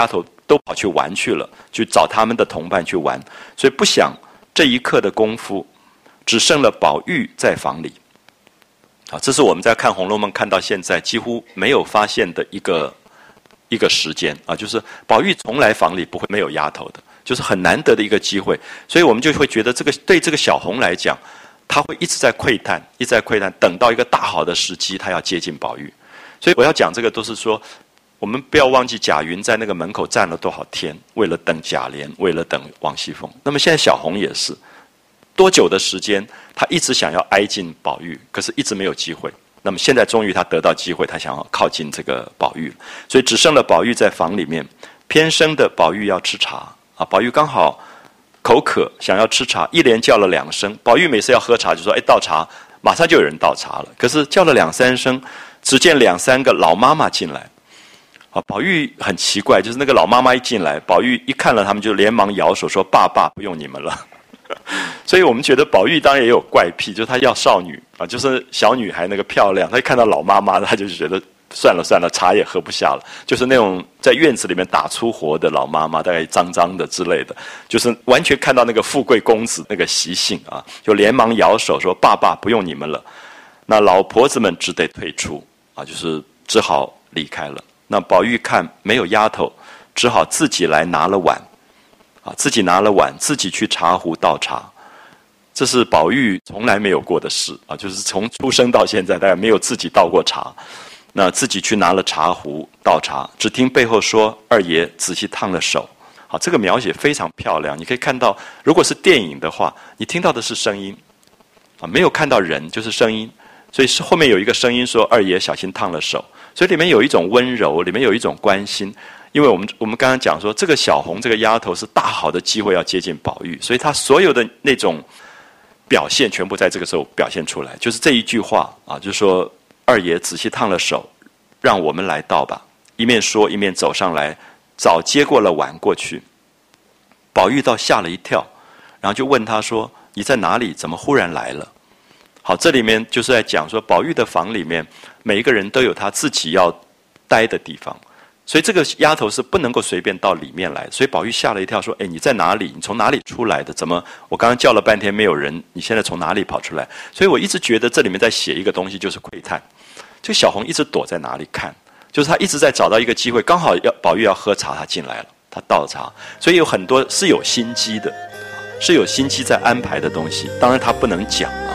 A: 都跑去玩去了，去找他们的同伴去玩。所以不想这一刻的功夫，只剩了宝玉在房里。啊，这是我们在看《红楼梦》看到现在几乎没有发现的一个一个时间啊，就是宝玉从来房里不会没有丫头的，就是很难得的一个机会。所以我们就会觉得这个对这个小红来讲，他会一直在窥探，一直在窥探，等到一个大好的时机，他要接近宝玉。所以我要讲这个都是说，我们不要忘记贾云在那个门口站了多少天，为了等贾琏，为了等王熙凤。那么现在小红也是。多久的时间，他一直想要挨近宝玉，可是一直没有机会。那么现在终于他得到机会，他想要靠近这个宝玉，所以只剩了宝玉在房里面。偏生的宝玉要吃茶啊，宝玉刚好口渴，想要吃茶，一连叫了两声。宝玉每次要喝茶就说：“哎，倒茶！”马上就有人倒茶了。可是叫了两三声，只见两三个老妈妈进来。啊，宝玉很奇怪，就是那个老妈妈一进来，宝玉一看了他们，就连忙摇手说：“爸爸，不用你们了。”所以我们觉得宝玉当然也有怪癖，就是他要少女啊，就是小女孩那个漂亮，他一看到老妈妈，他就觉得算了算了，茶也喝不下了。就是那种在院子里面打粗活的老妈妈，大概脏脏的之类的，就是完全看到那个富贵公子那个习性啊，就连忙摇手说：“爸爸，不用你们了。”那老婆子们只得退出啊，就是只好离开了。那宝玉看没有丫头，只好自己来拿了碗。啊，自己拿了碗，自己去茶壶倒茶，这是宝玉从来没有过的事啊！就是从出生到现在，大概没有自己倒过茶。那自己去拿了茶壶倒茶，只听背后说：“二爷仔细烫了手。”好，这个描写非常漂亮。你可以看到，如果是电影的话，你听到的是声音啊，没有看到人，就是声音。所以是后面有一个声音说：“二爷小心烫了手。”所以里面有一种温柔，里面有一种关心。因为我们我们刚刚讲说，这个小红这个丫头是大好的机会要接近宝玉，所以她所有的那种表现全部在这个时候表现出来，就是这一句话啊，就是说二爷仔细烫了手，让我们来倒吧。一面说一面走上来，早接过了碗过去。宝玉倒吓了一跳，然后就问他说：“你在哪里？怎么忽然来了？”好，这里面就是在讲说，宝玉的房里面每一个人都有他自己要待的地方。所以这个丫头是不能够随便到里面来，所以宝玉吓了一跳，说：“哎，你在哪里？你从哪里出来的？怎么我刚刚叫了半天没有人？你现在从哪里跑出来？”所以我一直觉得这里面在写一个东西，就是窥探。这个小红一直躲在哪里看，就是她一直在找到一个机会，刚好要宝玉要喝茶，她进来了，她倒茶，所以有很多是有心机的，是有心机在安排的东西。当然她不能讲啊。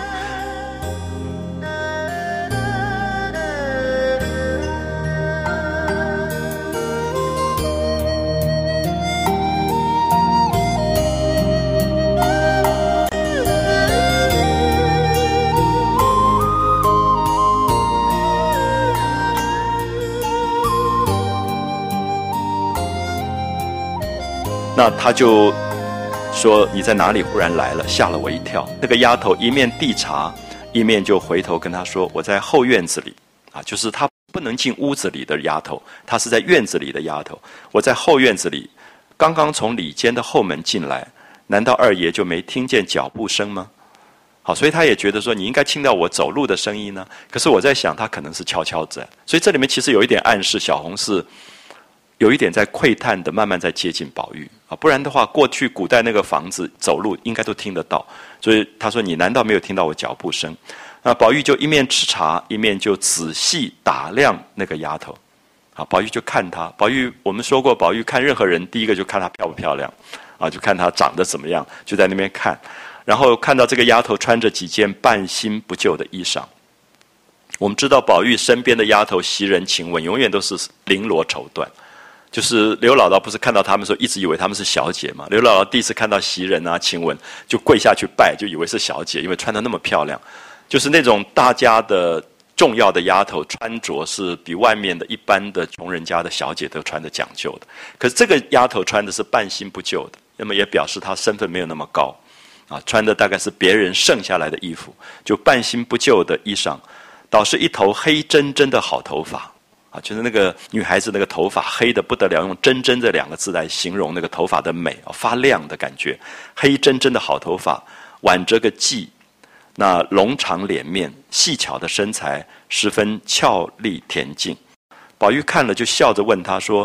A: 那他就说：“你在哪里？忽然来了，吓了我一跳。”那个丫头一面递茶，一面就回头跟他说：“我在后院子里。”啊，就是她不能进屋子里的丫头，她是在院子里的丫头。我在后院子里，刚刚从里间的后门进来，难道二爷就没听见脚步声吗？好，所以他也觉得说你应该听到我走路的声音呢。可是我在想，他可能是悄悄在，所以这里面其实有一点暗示，小红是有一点在窥探的，慢慢在接近宝玉啊。不然的话，过去古代那个房子走路应该都听得到。所以他说：“你难道没有听到我脚步声？”那宝玉就一面吃茶，一面就仔细打量那个丫头。好，宝玉就看她。宝玉我们说过，宝玉看任何人，第一个就看她漂不漂亮，啊，就看她长得怎么样，就在那边看。然后看到这个丫头穿着几件半新不旧的衣裳。我们知道宝玉身边的丫头袭人、晴雯永远都是绫罗绸缎，就是刘姥姥不是看到他们的时候一直以为他们是小姐嘛？刘姥姥第一次看到袭人啊、晴雯就跪下去拜，就以为是小姐，因为穿得那么漂亮。就是那种大家的重要的丫头穿着是比外面的一般的穷人家的小姐都穿得讲究的。可是这个丫头穿的是半新不旧的，那么也表示她身份没有那么高。啊，穿的大概是别人剩下来的衣服，就半新不旧的衣裳，倒是一头黑真真的好头发，啊，就是那个女孩子那个头发黑的不得了，用真真这两个字来形容那个头发的美，啊，发亮的感觉，黑真真的好头发，挽着个髻，那龙长脸面，细巧的身材，十分俏丽恬静。宝玉看了就笑着问他说：“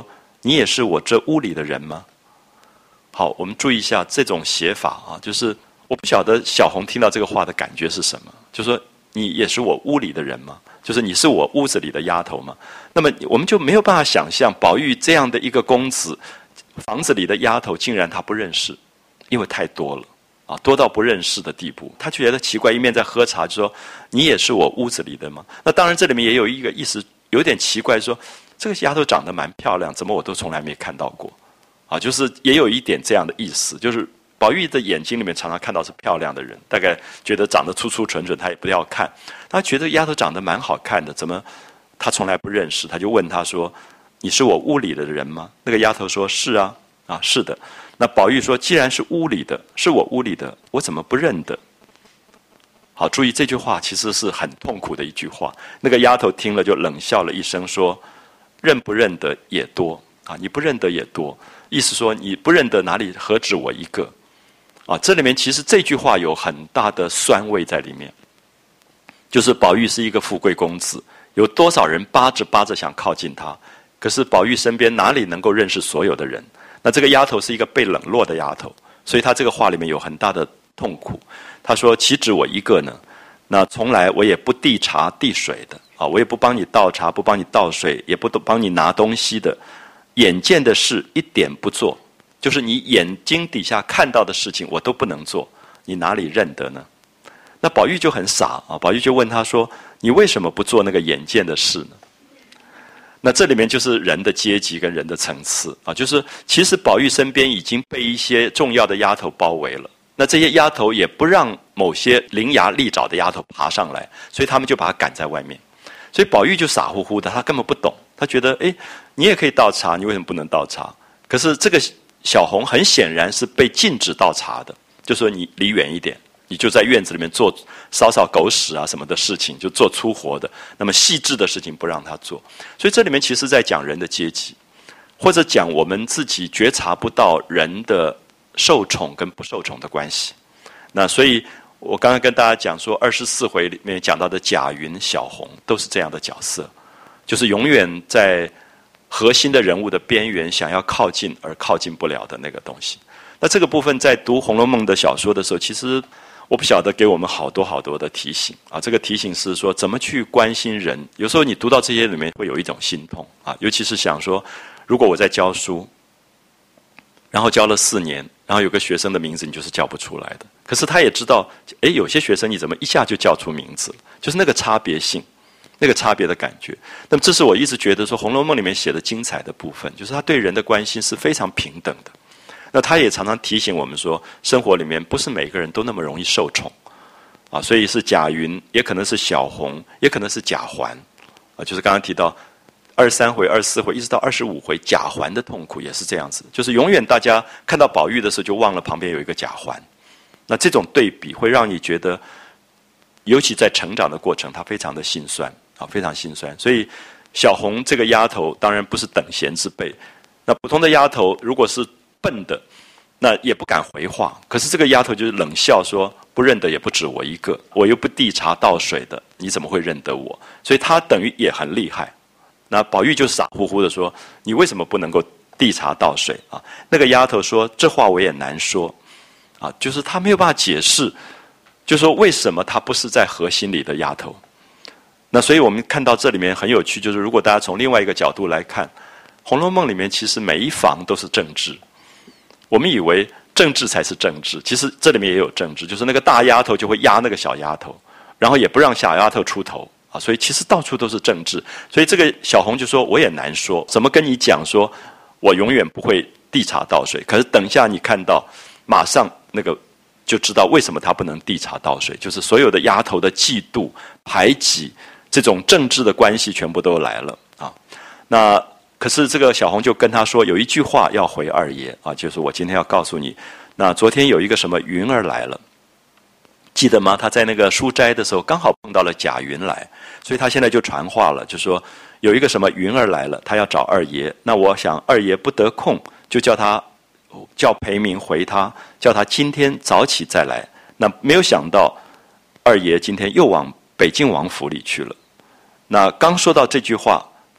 A: 你也是我这屋里的人吗？”好，我们注意一下这种写法啊，就是我不晓得小红听到这个话的感觉是什么，就说你也是我屋里的人吗？就是你是我屋子里的丫头吗？那么我们就没有办法想象宝玉这样的一个公子，房子里的丫头竟然他不认识，因为太多了啊，多到不认识的地步。他就觉得奇怪，一面在喝茶，就说你也是我屋子里的吗？那当然这里面也有一个意思，有点奇怪，说这个丫头长得蛮漂亮，怎么我都从来没看到过啊？就是也有一点这样的意思，就是宝玉的眼睛里面常常看到是漂亮的人，大概觉得长得粗粗蠢蠢，他也不要看。他觉得丫头长得蛮好看的，怎么他从来不认识？他就问他说：“你是我屋里的人吗？”那个丫头说：“是啊，啊是的。”那宝玉说：“既然是屋里的，是我屋里的，我怎么不认得？”好，注意这句话其实是很痛苦的一句话。那个丫头听了就冷笑了一声，说：“认不认得也多啊，你不认得也多。”意思说你不认得哪里何止我一个啊？这里面其实这句话有很大的酸味在里面。就是宝玉是一个富贵公子，有多少人巴着巴着想靠近他，可是宝玉身边哪里能够认识所有的人？那这个丫头是一个被冷落的丫头，所以他这个话里面有很大的痛苦。他说：“岂止我一个呢？那从来我也不递茶递水的啊，我也不帮你倒茶，不帮你倒水，也不帮你拿东西的。眼见的事一点不做，就是你眼睛底下看到的事情，我都不能做，你哪里认得呢？”那宝玉就很傻啊，宝玉就问他说：“你为什么不做那个眼见的事呢？”那这里面就是人的阶级跟人的层次啊，就是其实宝玉身边已经被一些重要的丫头包围了，那这些丫头也不让某些伶牙俐爪的丫头爬上来，所以他们就把他赶在外面。所以宝玉就傻乎乎的，他根本不懂，他觉得哎，你也可以倒茶，你为什么不能倒茶？可是这个小红很显然是被禁止倒茶的，就说你离远一点。你就在院子里面做扫扫狗屎啊什么的事情，就做粗活的，那么细致的事情不让他做。所以这里面其实在讲人的阶级，或者讲我们自己觉察不到人的受宠跟不受宠的关系。那所以我刚刚跟大家讲说，二十四回里面讲到的贾云、小红都是这样的角色，就是永远在核心的人物的边缘想要靠近而靠近不了的那个东西。那这个部分在读《红楼梦》的小说的时候，其实我不晓得给我们好多好多的提醒啊！这个提醒是说怎么去关心人。有时候你读到这些里面会有一种心痛啊，尤其是想说，如果我在教书，然后教了四年，然后有个学生的名字你就是叫不出来的，可是他也知道，哎，有些学生你怎么一下就叫出名字了？就是那个差别性，那个差别的感觉。那么这是我一直觉得说《红楼梦》里面写的精彩的部分，就是他对人的关心是非常平等的。那他也常常提醒我们说，生活里面不是每个人都那么容易受宠，啊，所以是贾云，也可能是小红，也可能是贾环，啊，就是刚刚提到二十三回、二十四回，一直到二十五回，贾环的痛苦也是这样子，就是永远大家看到宝玉的时候，就忘了旁边有一个贾环。那这种对比会让你觉得，尤其在成长的过程，他非常的心酸啊，非常心酸。所以小红这个丫头当然不是等闲之辈，那普通的丫头如果是笨的，那也不敢回话。可是这个丫头就是冷笑说：“不认得也不止我一个，我又不递茶倒水的，你怎么会认得我？”所以她等于也很厉害。那宝玉就傻乎乎的说：“你为什么不能够递茶倒水啊？”那个丫头说：“这话我也难说。”啊，就是她没有办法解释，就说为什么她不是在核心里的丫头。那所以我们看到这里面很有趣，就是如果大家从另外一个角度来看，《红楼梦》里面其实每一房都是政治。我们以为政治才是政治，其实这里面也有政治，就是那个大丫头就会压那个小丫头，然后也不让小丫头出头啊，所以其实到处都是政治。所以这个小红就说：“我也难说，怎么跟你讲说，我永远不会递茶倒水。可是等一下你看到，马上那个就知道为什么他不能递茶倒水，就是所有的丫头的嫉妒、排挤，这种政治的关系全部都来了啊。那。”可是这个小红就跟他说，有一句话要回二爷啊，就是我今天要告诉你，那昨天有一个什么云儿来了，记得吗？他在那个书斋的时候刚好碰到了贾云来，所以他现在就传话了，就说有一个什么云儿来了，他要找二爷。那我想二爷不得空，就叫他叫裴明回他，叫他今天早起再来。那没有想到二爷今天又往北静王府里去了。那刚说到这句话，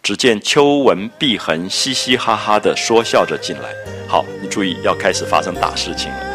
A: 只见秋纹碧痕嘻嘻哈哈的说笑着进来。好，你注意，要开始发生大事情了。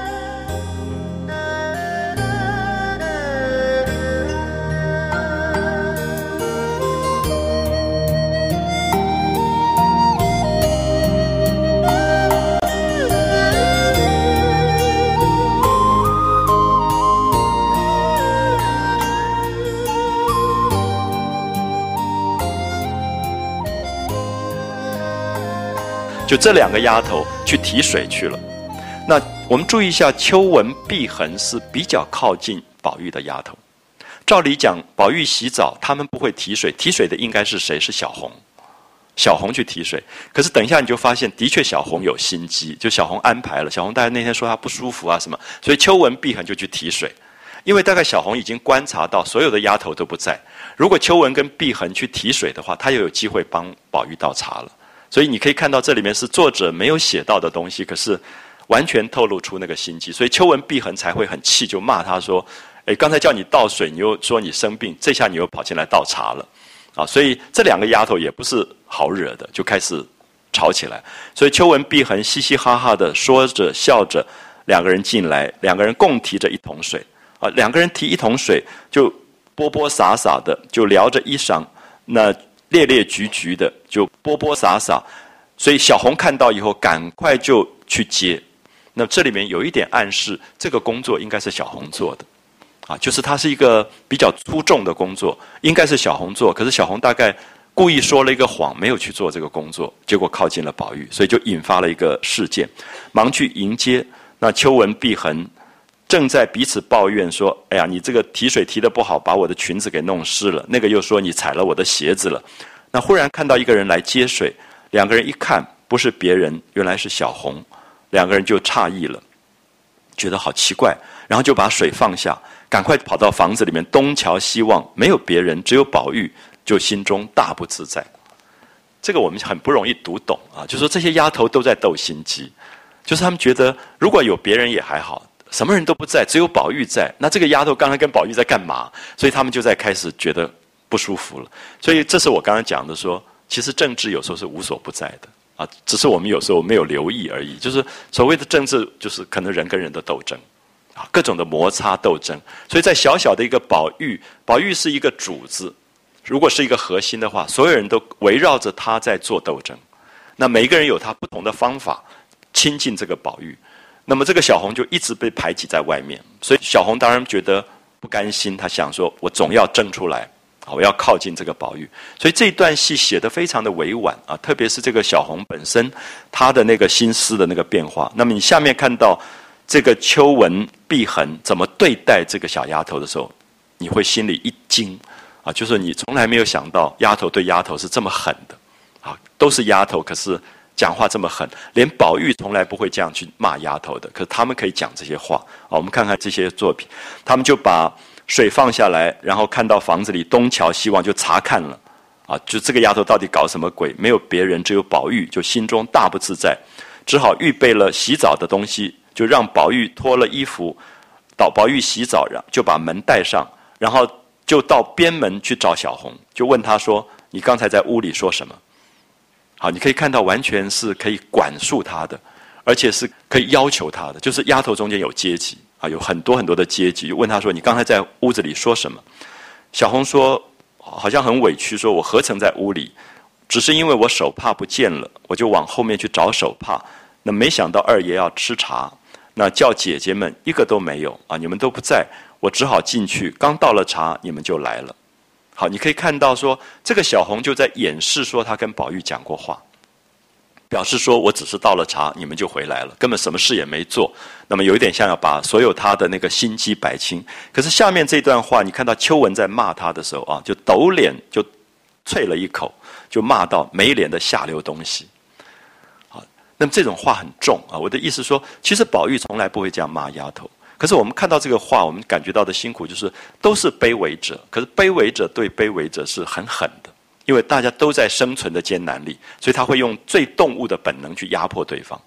A: 就这两个丫头去提水去了。那我们注意一下，秋纹碧痕是比较靠近宝玉的丫头。照理讲，宝玉洗澡，他们不会提水，提水的应该是谁？是小红。小红去提水。可是等一下你就发现，的确小红有心机，就小红安排了。小红大概那天说她不舒服啊什么，所以秋纹碧痕就去提水。因为大概小红已经观察到所有的丫头都不在，如果秋纹跟碧痕去提水的话，她又有机会帮宝玉倒茶了。所以你可以看到这里面是作者没有写到的东西，可是完全透露出那个心机，所以秋纹碧痕才会很气，就骂他说：“哎，刚才叫你倒水，你又说你生病，这下你又跑进来倒茶了。”啊，所以这两个丫头也不是好惹的，就开始吵起来。所以秋纹碧痕嘻嘻哈哈的说着笑着，两个人进来，两个人共提着一桶水。啊，两个人提一桶水，就波波洒洒的，就撩着衣裳，那列列局局的，就波波洒洒。所以小红看到以后，赶快就去接。那这里面有一点暗示，这个工作应该是小红做的，啊，就是它是一个比较粗重的工作，应该是小红做。可是小红大概故意说了一个谎，没有去做这个工作，结果靠近了宝玉，所以就引发了一个事件，忙去迎接。那秋纹碧痕正在彼此抱怨说：“哎呀，你这个提水提得不好，把我的裙子给弄湿了。”那个又说：“你踩了我的鞋子了。”那忽然看到一个人来接水，两个人一看，不是别人，原来是小红。两个人就诧异了，觉得好奇怪，然后就把水放下，赶快跑到房子里面东瞧西望，没有别人，只有宝玉，就心中大不自在。这个我们很不容易读懂啊，就是说这些丫头都在斗心机，就是他们觉得如果有别人也还好。什么人都不在，只有宝玉在。那这个丫头刚才跟宝玉在干嘛？所以他们就在开始觉得不舒服了。所以这是我刚刚讲的说，其实政治有时候是无所不在的啊，只是我们有时候没有留意而已。就是所谓的政治，就是可能人跟人的斗争啊，各种的摩擦斗争。所以在小小的一个宝玉，宝玉是一个主子，如果是一个核心的话，所有人都围绕着他在做斗争。那每一个人有他不同的方法亲近这个宝玉。那么这个小红就一直被排挤在外面，所以小红当然觉得不甘心，她想说我总要争出来，我要靠近这个宝玉。所以这一段戏写得非常的委婉啊，特别是这个小红本身她的那个心思的那个变化。那么你下面看到这个秋纹碧痕怎么对待这个小丫头的时候，你会心里一惊啊，就是你从来没有想到丫头对丫头是这么狠的啊，都是丫头，可是讲话这么狠，连宝玉从来不会这样去骂丫头的，可是他们可以讲这些话啊。我们看看这些作品，他们就把水放下来，然后看到房子里东瞧西望，就查看了啊，就这个丫头到底搞什么鬼？没有别人，只有宝玉，就心中大不自在，只好预备了洗澡的东西，就让宝玉脱了衣服，到宝玉洗澡，就把门带上，然后就到边门去找小红，就问她说：“你刚才在屋里说什么？”好，你可以看到完全是可以管束他的，而且是可以要求他的。就是丫头中间有阶级啊，有很多很多的阶级。就问他说：“你刚才在屋子里说什么？”小红说：“好像很委屈，说我何曾在屋里？只是因为我手帕不见了，我就往后面去找手帕。那没想到二爷要吃茶，那叫姐姐们一个都没有啊，你们都不在，我只好进去。刚倒了茶，你们就来了。”好，你可以看到说，这个小红就在掩饰说他跟宝玉讲过话，表示说我只是倒了茶，你们就回来了，根本什么事也没做。那么有一点像要把所有他的那个心机摆清。可是下面这段话，你看到秋纹在骂他的时候啊，就抖脸就啐了一口，就骂到没脸的下流东西。好，那么这种话很重啊。我的意思说，其实宝玉从来不会这样骂丫头。可是我们看到这个话，我们感觉到的辛苦就是都是卑微者，可是卑微者对卑微者是很狠的，因为大家都在生存的艰难里，所以他会用最动物的本能去压迫对方。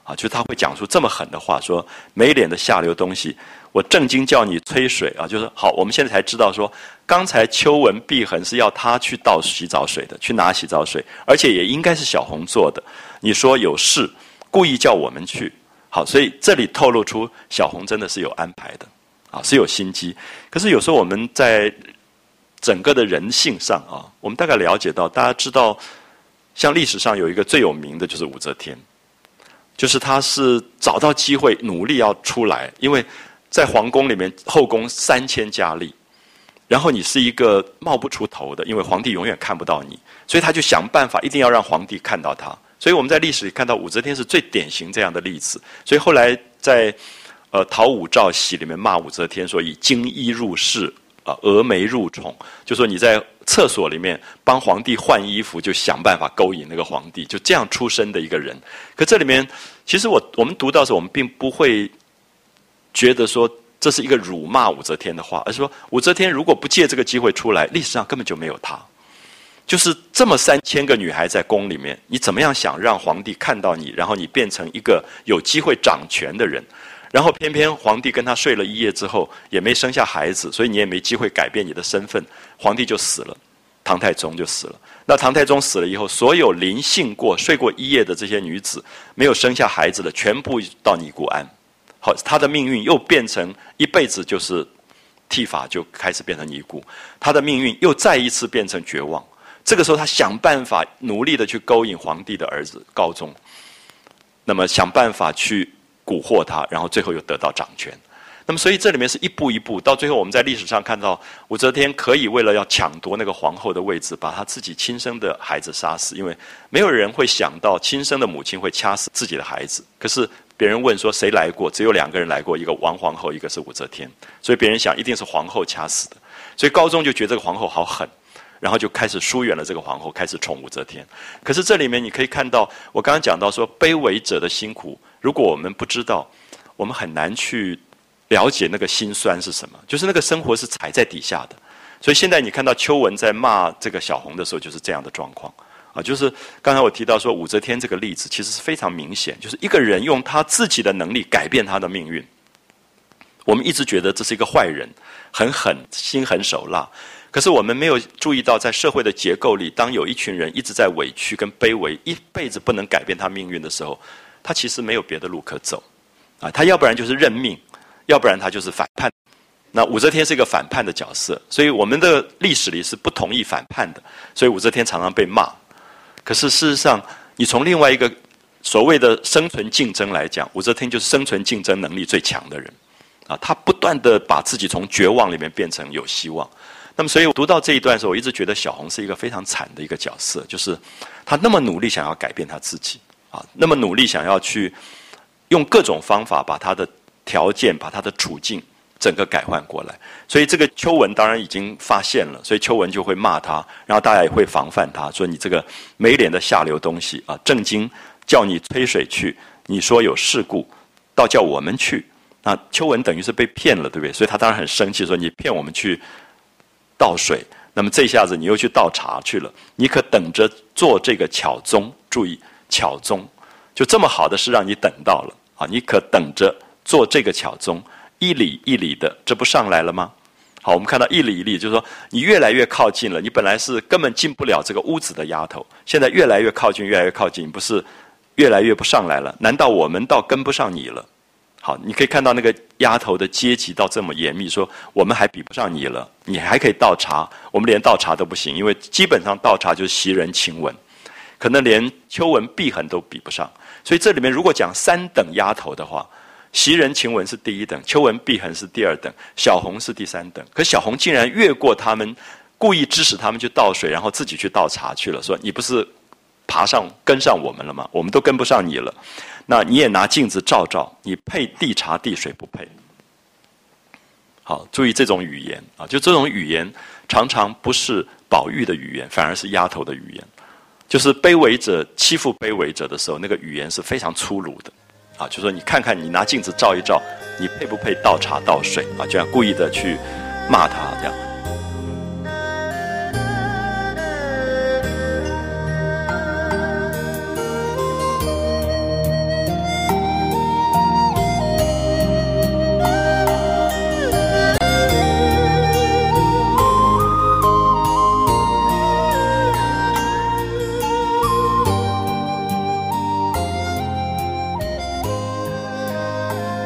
A: 啊，就是他会讲出这么狠的话，说没脸的下流东西，我正经叫你吹水啊，就是好，我们现在才知道说，刚才邱文碧痕是要他去倒洗澡水的，去拿洗澡水，而且也应该是小红做的。你说有事，故意叫我们去，好，所以这里透露出小红真的是有安排的，啊，是有心机。可是有时候我们在整个的人性上啊，我们大概了解到，大家知道，像历史上有一个最有名的就是武则天。就是他是找到机会努力要出来，因为在皇宫里面后宫三千佳丽，然后你是一个冒不出头的，因为皇帝永远看不到你，所以他就想办法一定要让皇帝看到他。所以我们在历史里看到武则天是最典型这样的例子。所以后来在呃《讨武曌檄》里面骂武则天说以金衣入室啊，峨眉入宠，就说你在厕所里面帮皇帝换衣服，就想办法勾引那个皇帝，就这样出身的一个人。可这里面，其实我我们读到的时候，我们并不会觉得说这是一个辱骂武则天的话，而是说武则天如果不借这个机会出来，历史上根本就没有她。就是这么三千个女孩在宫里面，你怎么样想让皇帝看到你，然后你变成一个有机会掌权的人？然后偏偏皇帝跟他睡了一夜之后，也没生下孩子，所以你也没机会改变你的身份，皇帝就死了，唐太宗就死了。那唐太宗死了以后，所有临幸过、睡过一夜的这些女子，没有生下孩子的，全部到尼姑庵。好，她的命运又变成一辈子就是剃发，就开始变成尼姑。她的命运又再一次变成绝望。这个时候，她想办法努力的去勾引皇帝的儿子高宗，那么想办法去蛊惑他，然后最后又得到掌权。那么所以这里面是一步一步，到最后我们在历史上看到武则天可以为了要抢夺那个皇后的位置，把她自己亲生的孩子杀死，因为没有人会想到亲生的母亲会掐死自己的孩子。可是别人问说谁来过，只有两个人来过，一个王皇后，一个是武则天，所以别人想一定是皇后掐死的。所以高宗就觉得这个皇后好狠，然后就开始疏远了这个皇后，开始宠武则天。可是这里面你可以看到，我刚刚讲到说卑微者的辛苦，如果我们不知道，我们很难去了解那个辛酸是什么，就是那个生活是踩在底下的。所以现在你看到邱文在骂这个小红的时候，就是这样的状况啊。就是刚才我提到说武则天这个例子，其实是非常明显，就是一个人用他自己的能力改变他的命运。我们一直觉得这是一个坏人，很狠，心狠手辣。可是我们没有注意到，在社会的结构里，当有一群人一直在委屈跟卑微，一辈子不能改变他命运的时候，他其实没有别的路可走啊。他要不然就是认命，要不然他就是反叛。那武则天是一个反叛的角色，所以我们的历史里是不同意反叛的，所以武则天常常被骂。可是事实上，你从另外一个所谓的生存竞争来讲，武则天就是生存竞争能力最强的人啊。他不断的把自己从绝望里面变成有希望。那么，所以我读到这一段的时候，我一直觉得小红是一个非常惨的一个角色，就是她那么努力想要改变她自己啊，那么努力想要去用各种方法把她的条件、把她的处境整个改换过来。所以这个邱文当然已经发现了，所以邱文就会骂他，然后大家也会防范他，说你这个没脸的下流东西啊！正经叫你吹水去，你说有事故，倒叫我们去。那邱文等于是被骗了，对不对？所以他当然很生气，说你骗我们去倒水，那么这下子你又去倒茶去了，你可等着做这个巧宗。注意，巧宗就这么好的事让你等到了啊！你可等着做这个巧宗，一里一里的，这不上来了吗？好，我们看到一里一里，就是说你越来越靠近了，你本来是根本进不了这个屋子的丫头，现在越来越靠近，越来越靠近，不是越来越不上来了？难道我们倒跟不上你了？好，你可以看到那个丫头的阶级到这么严密，说我们还比不上你了，你还可以倒茶，我们连倒茶都不行，因为基本上倒茶就是袭人、晴雯，可能连秋文、碧痕都比不上。所以这里面如果讲三等丫头的话，袭人、晴雯是第一等，秋文、碧痕是第二等，小红是第三等。可小红竟然越过他们，故意指使他们去倒水，然后自己去倒茶去了，说你不是爬上跟上我们了吗？我们都跟不上你了。那你也拿镜子照照，你配递茶递水不配？好，注意这种语言啊，就这种语言常常不是宝玉的语言，反而是丫头的语言。就是卑微者欺负卑微者的时候，那个语言是非常粗鲁的啊，就说你看看，你拿镜子照一照，你配不配倒茶倒水啊？这样故意的去骂他这样。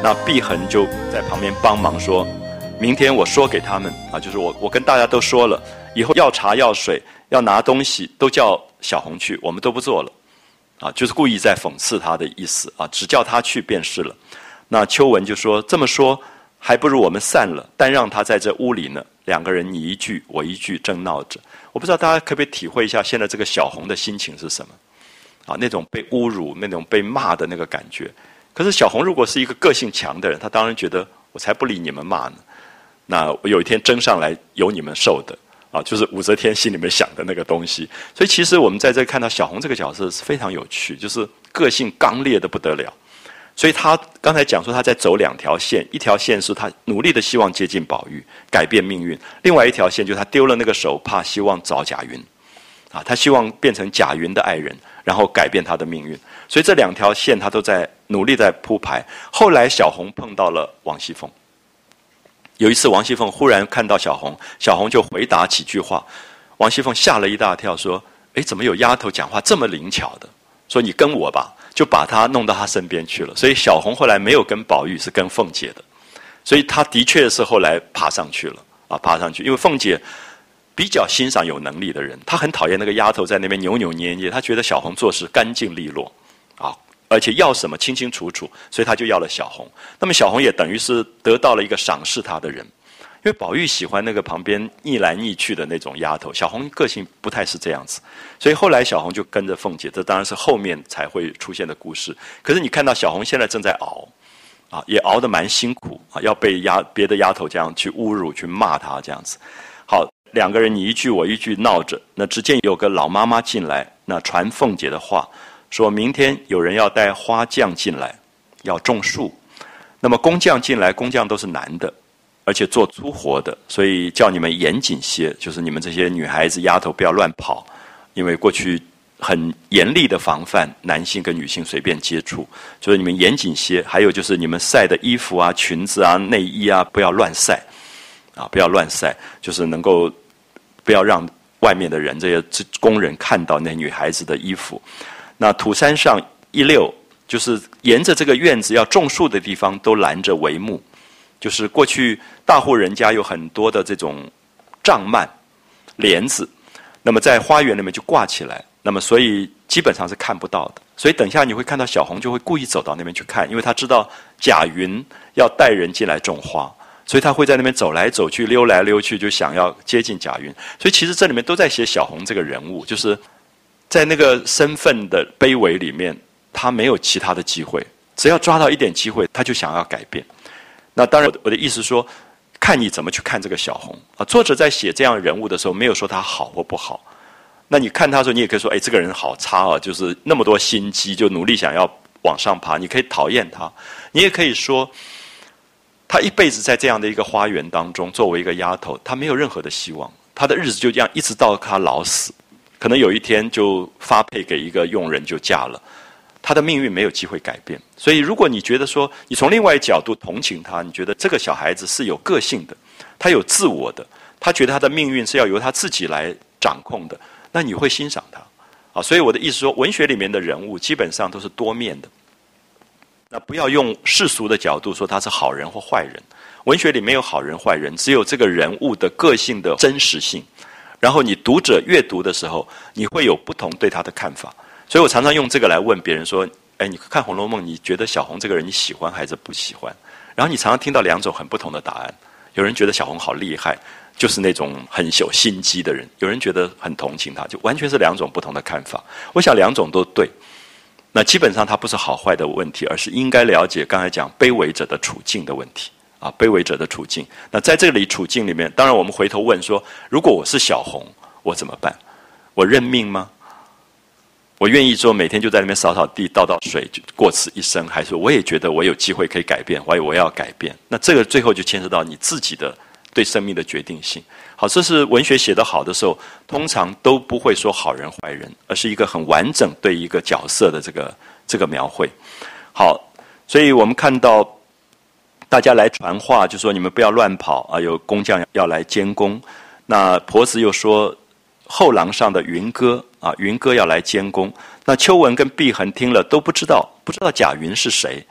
A: 那碧痕就在旁边帮忙说，明天我说给他们啊，就是我我跟大家都说了，以后要茶要水要拿东西都叫小红去，我们都不做了啊，就是故意在讽刺他的意思啊，只叫他去便是了。那秋文就说，这么说还不如我们散了，但让他在这屋里呢，两个人你一句我一句正闹着。我不知道大家可不可以体会一下现在这个小红的心情是什么啊？那种被侮辱那种被骂的那个感觉。可是小红如果是一个个性强的人，他当然觉得我才不理你们骂呢，那我有一天争上来有你们受的啊，就是武则天心里面想的那个东西。所以其实我们在这看到小红这个角色是非常有趣，就是个性刚烈的不得了。所以他刚才讲说他在走两条线，一条线是他努力的希望接近宝玉改变命运，另外一条线就是他丢了那个手，怕希望找贾云啊，他希望变成贾云的爱人，然后改变他的命运。所以这两条线他都在努力在铺排。后来小红碰到了王熙凤，有一次王熙凤忽然看到小红，小红就回答几句话，王熙凤吓了一大跳，说诶，怎么有丫头讲话这么灵巧的，说你跟我吧，就把她弄到她身边去了。所以小红后来没有跟宝玉，是跟凤姐的，所以她的确是后来爬上去了啊，爬上去。因为凤姐比较欣赏有能力的人，她很讨厌那个丫头在那边扭扭捏捏，她觉得小红做事干净利落啊，而且要什么清清楚楚，所以她就要了小红。那么小红也等于是得到了一个赏识她的人，因为宝玉喜欢那个旁边逆来逆去的那种丫头，小红个性不太是这样子，所以后来小红就跟着凤姐，这当然是后面才会出现的故事。可是你看到小红现在正在熬啊，也熬得蛮辛苦啊，要被丫别的丫头这样去侮辱去骂她这样子。好，两个人你一句我一句闹着，那只见有个老妈妈进来，那传凤姐的话，说明天有人要带花匠进来，要种树。那么工匠进来，工匠都是男的，而且做粗活的，所以叫你们严谨些，就是你们这些女孩子丫头不要乱跑，因为过去很严厉的防范男性跟女性随便接触，所以你们严谨些。还有就是你们晒的衣服啊、裙子啊、内衣啊，不要乱晒啊，不要乱晒，就是能够不要让外面的人这些工人看到那女孩子的衣服。那土山上一溜，就是沿着这个院子要种树的地方都拦着帷幕，就是过去大户人家有很多的这种帐幔帘子，那么在花园里面就挂起来，那么所以基本上是看不到的。所以等一下你会看到小红就会故意走到那边去看，因为她知道贾云要带人进来种花，所以她会在那边走来走去溜来溜去，就想要接近贾云。所以其实这里面都在写小红这个人物，就是在那个身份的卑微里面，她没有其他的机会，只要抓到一点机会她就想要改变。那当然我的意思说，看你怎么去看这个小红啊。作者在写这样人物的时候没有说他好或不好，那你看他的时候你也可以说，哎，这个人好差啊，就是那么多心机，就努力想要往上爬，你可以讨厌他。你也可以说他一辈子在这样的一个花园当中作为一个丫头，他没有任何的希望，他的日子就这样一直到他老死，可能有一天就发配给一个佣人就嫁了，他的命运没有机会改变。所以如果你觉得说你从另外一个角度同情他，你觉得这个小孩子是有个性的，他有自我的，他觉得他的命运是要由他自己来掌控的，那你会欣赏他啊。所以我的意思说，文学里面的人物基本上都是多面的，那不要用世俗的角度说他是好人或坏人，文学里没有好人坏人，只有这个人物的个性的真实性，然后你读者阅读的时候你会有不同对他的看法。所以我常常用这个来问别人说，哎，你看《红楼梦》，你觉得小红这个人你喜欢还是不喜欢？然后你常常听到两种很不同的答案。有人觉得小红好厉害，就是那种很有心机的人，有人觉得很同情他，就完全是两种不同的看法。我想两种都对，那基本上它不是好坏的问题，而是应该了解刚才讲卑微者的处境的问题啊，卑微者的处境。那在这里处境里面，当然我们回头问说，如果我是小红，我怎么办？我认命吗？我愿意说每天就在那边扫扫地倒倒水就过此一生，还是我也觉得我有机会可以改变，我我要改变？那这个最后就牵涉到你自己的对生命的决定性。好，这是文学写得好的时候通常都不会说好人坏人，而是一个很完整对一个角色的这个这个描绘。好，所以我们看到大家来传话，就说你们不要乱跑啊，有工匠要来监工。那婆子又说后廊上的云哥啊，云哥要来监工。那秋文跟碧痕听了都不知道，不知道贾云是谁。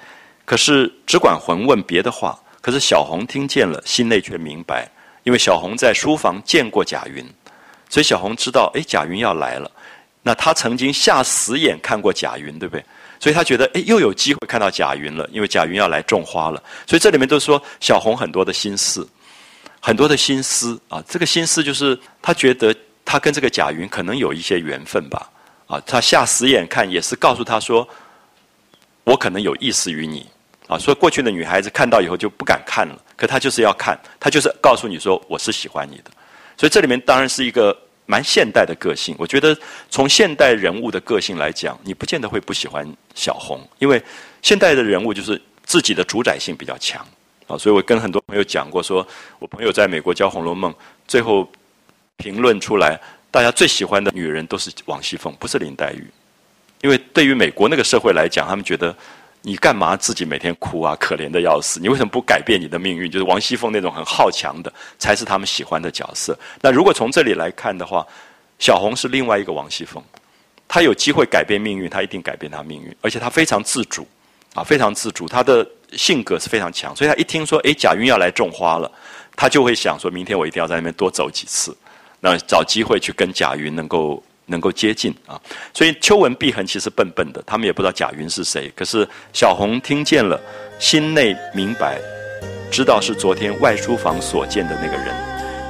A: 可是只管混问别的话。可是小红听见了，心内却明白，因为小红在书房见过贾云，所以小红知道，哎，贾云要来了。那他曾经下死眼看过贾云，对不对？所以他觉得，哎，又有机会看到贾云了，因为贾云要来种花了。所以这里面都说小红很多的心思，很多的心思啊。这个心思就是他觉得他跟这个贾云可能有一些缘分吧。啊，他下死眼看也是告诉他说，我可能有意思于你。啊，所以过去的女孩子看到以后就不敢看了，可她就是要看，她就是告诉你说我是喜欢你的。所以这里面当然是一个蛮现代的个性。我觉得从现代人物的个性来讲，你不见得会不喜欢小红，因为现代的人物就是自己的主宰性比较强啊。所以我跟很多朋友讲过说，我朋友在美国教《红楼梦》，最后评论出来，大家最喜欢的女人都是王熙凤，不是林黛玉，因为对于美国那个社会来讲，他们觉得。你干嘛自己每天哭啊？可怜的要死！你为什么不改变你的命运？就是王熙凤那种很好强的，才是他们喜欢的角色。那如果从这里来看的话，小红是另外一个王熙凤，她有机会改变命运，她一定改变她命运，而且她非常自主，啊，非常自主，她的性格是非常强。所以她一听说，哎，贾云要来种花了，她就会想说，明天我一定要在那边多走几次，那找机会去跟贾云能够。能够接近啊，所以秋文碧痕其实笨笨的，他们也不知道贾云是谁。可是小红听见了，心内明白，知道是昨天外书房所见的那个人。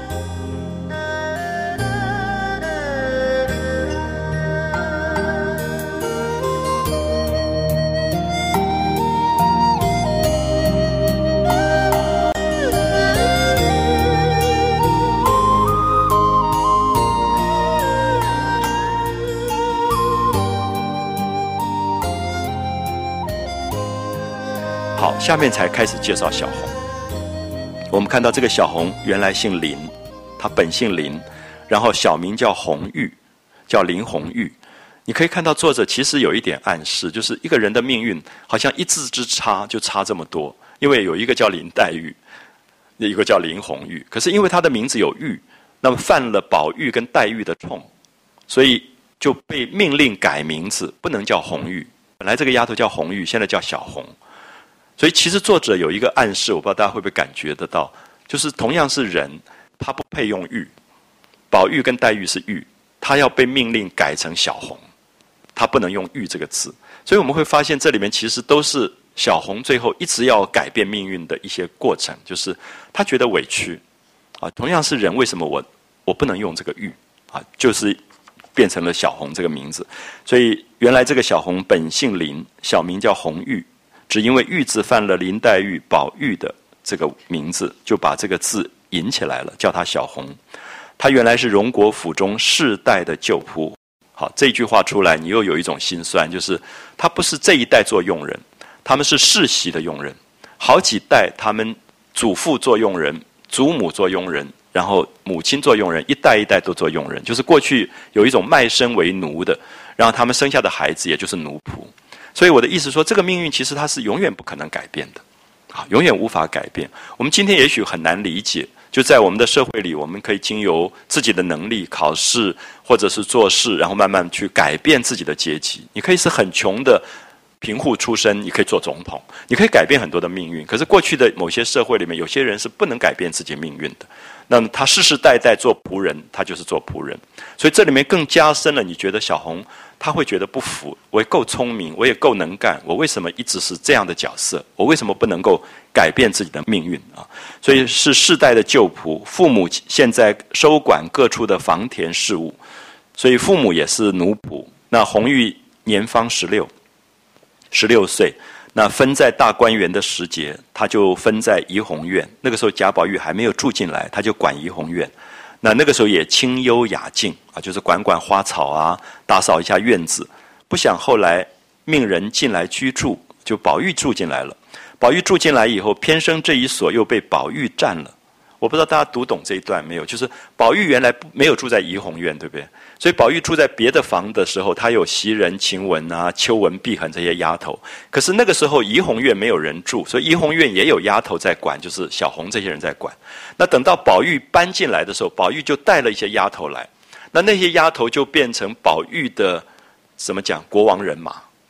A: 好，下面才开始介绍小红。我们看到这个小红原来姓林，她本姓林，然后小名叫红玉，叫林红玉。你可以看到作者其实有一点暗示，就是一个人的命运好像一字之差就差这么多。因为有一个叫林黛玉，一个叫林红玉，可是因为她的名字有玉，那么犯了宝玉跟黛玉的冲，所以就被命令改名字，不能叫红玉。本来这个丫头叫红玉，现在叫小红。所以其实作者有一个暗示，我不知道大家会不会感觉得到，就是同样是人，他不配用玉，宝玉跟黛玉是玉，他要被命令改成小红，他不能用玉这个字。所以我们会发现这里面其实都是小红最后一直要改变命运的一些过程，就是他觉得委屈啊，同样是人，为什么我我不能用这个玉啊？就是变成了小红这个名字。所以原来这个小红本姓林，小名叫红玉。只因为玉字犯了林黛玉、宝玉的这个名字，就把这个字引起来了，叫她小红。她原来是荣国府中世代的旧仆。好，这句话出来，你又有一种心酸，就是她不是这一代做佣人，他们是世袭的佣人，好几代他们祖父做佣人，祖母做佣人，然后母亲做佣人，一代一代都做佣人，就是过去有一种卖身为奴的，然后他们生下的孩子也就是奴仆。所以我的意思说，这个命运其实它是永远不可能改变的，啊，永远无法改变。我们今天也许很难理解，就在我们的社会里，我们可以经由自己的能力、考试或者是做事，然后慢慢去改变自己的阶级。你可以是很穷的贫户出身，你可以做总统，你可以改变很多的命运。可是过去的某些社会里面，有些人是不能改变自己命运的。那么他世世代代做仆人，他就是做仆人。所以这里面更加深了，你觉得小红他会觉得不服，我也够聪明，我也够能干，我为什么一直是这样的角色？我为什么不能够改变自己的命运啊？所以是世代的旧仆，父母现在收管各处的房田事务，所以父母也是奴仆。那红玉年方十六，十六岁，那分在大观园的时节，他就分在怡红院。那个时候贾宝玉还没有住进来，他就管怡红院。那那个时候也清幽雅静啊，就是管管花草啊，打扫一下院子。不想后来命人进来居住，就宝玉住进来了。宝玉住进来以后，偏生这一所又被宝玉占了。我不知道大家读懂这一段没有？就是宝玉原来没有住在怡红院，对不对？所以宝玉住在别的房的时候，他有袭人、晴雯啊、秋文、碧痕这些丫头。可是那个时候怡红院没有人住，所以怡红院也有丫头在管，就是小红这些人在管。那等到宝玉搬进来的时候，宝玉就带了一些丫头来，那那些丫头就变成宝玉的怎么讲国王人马，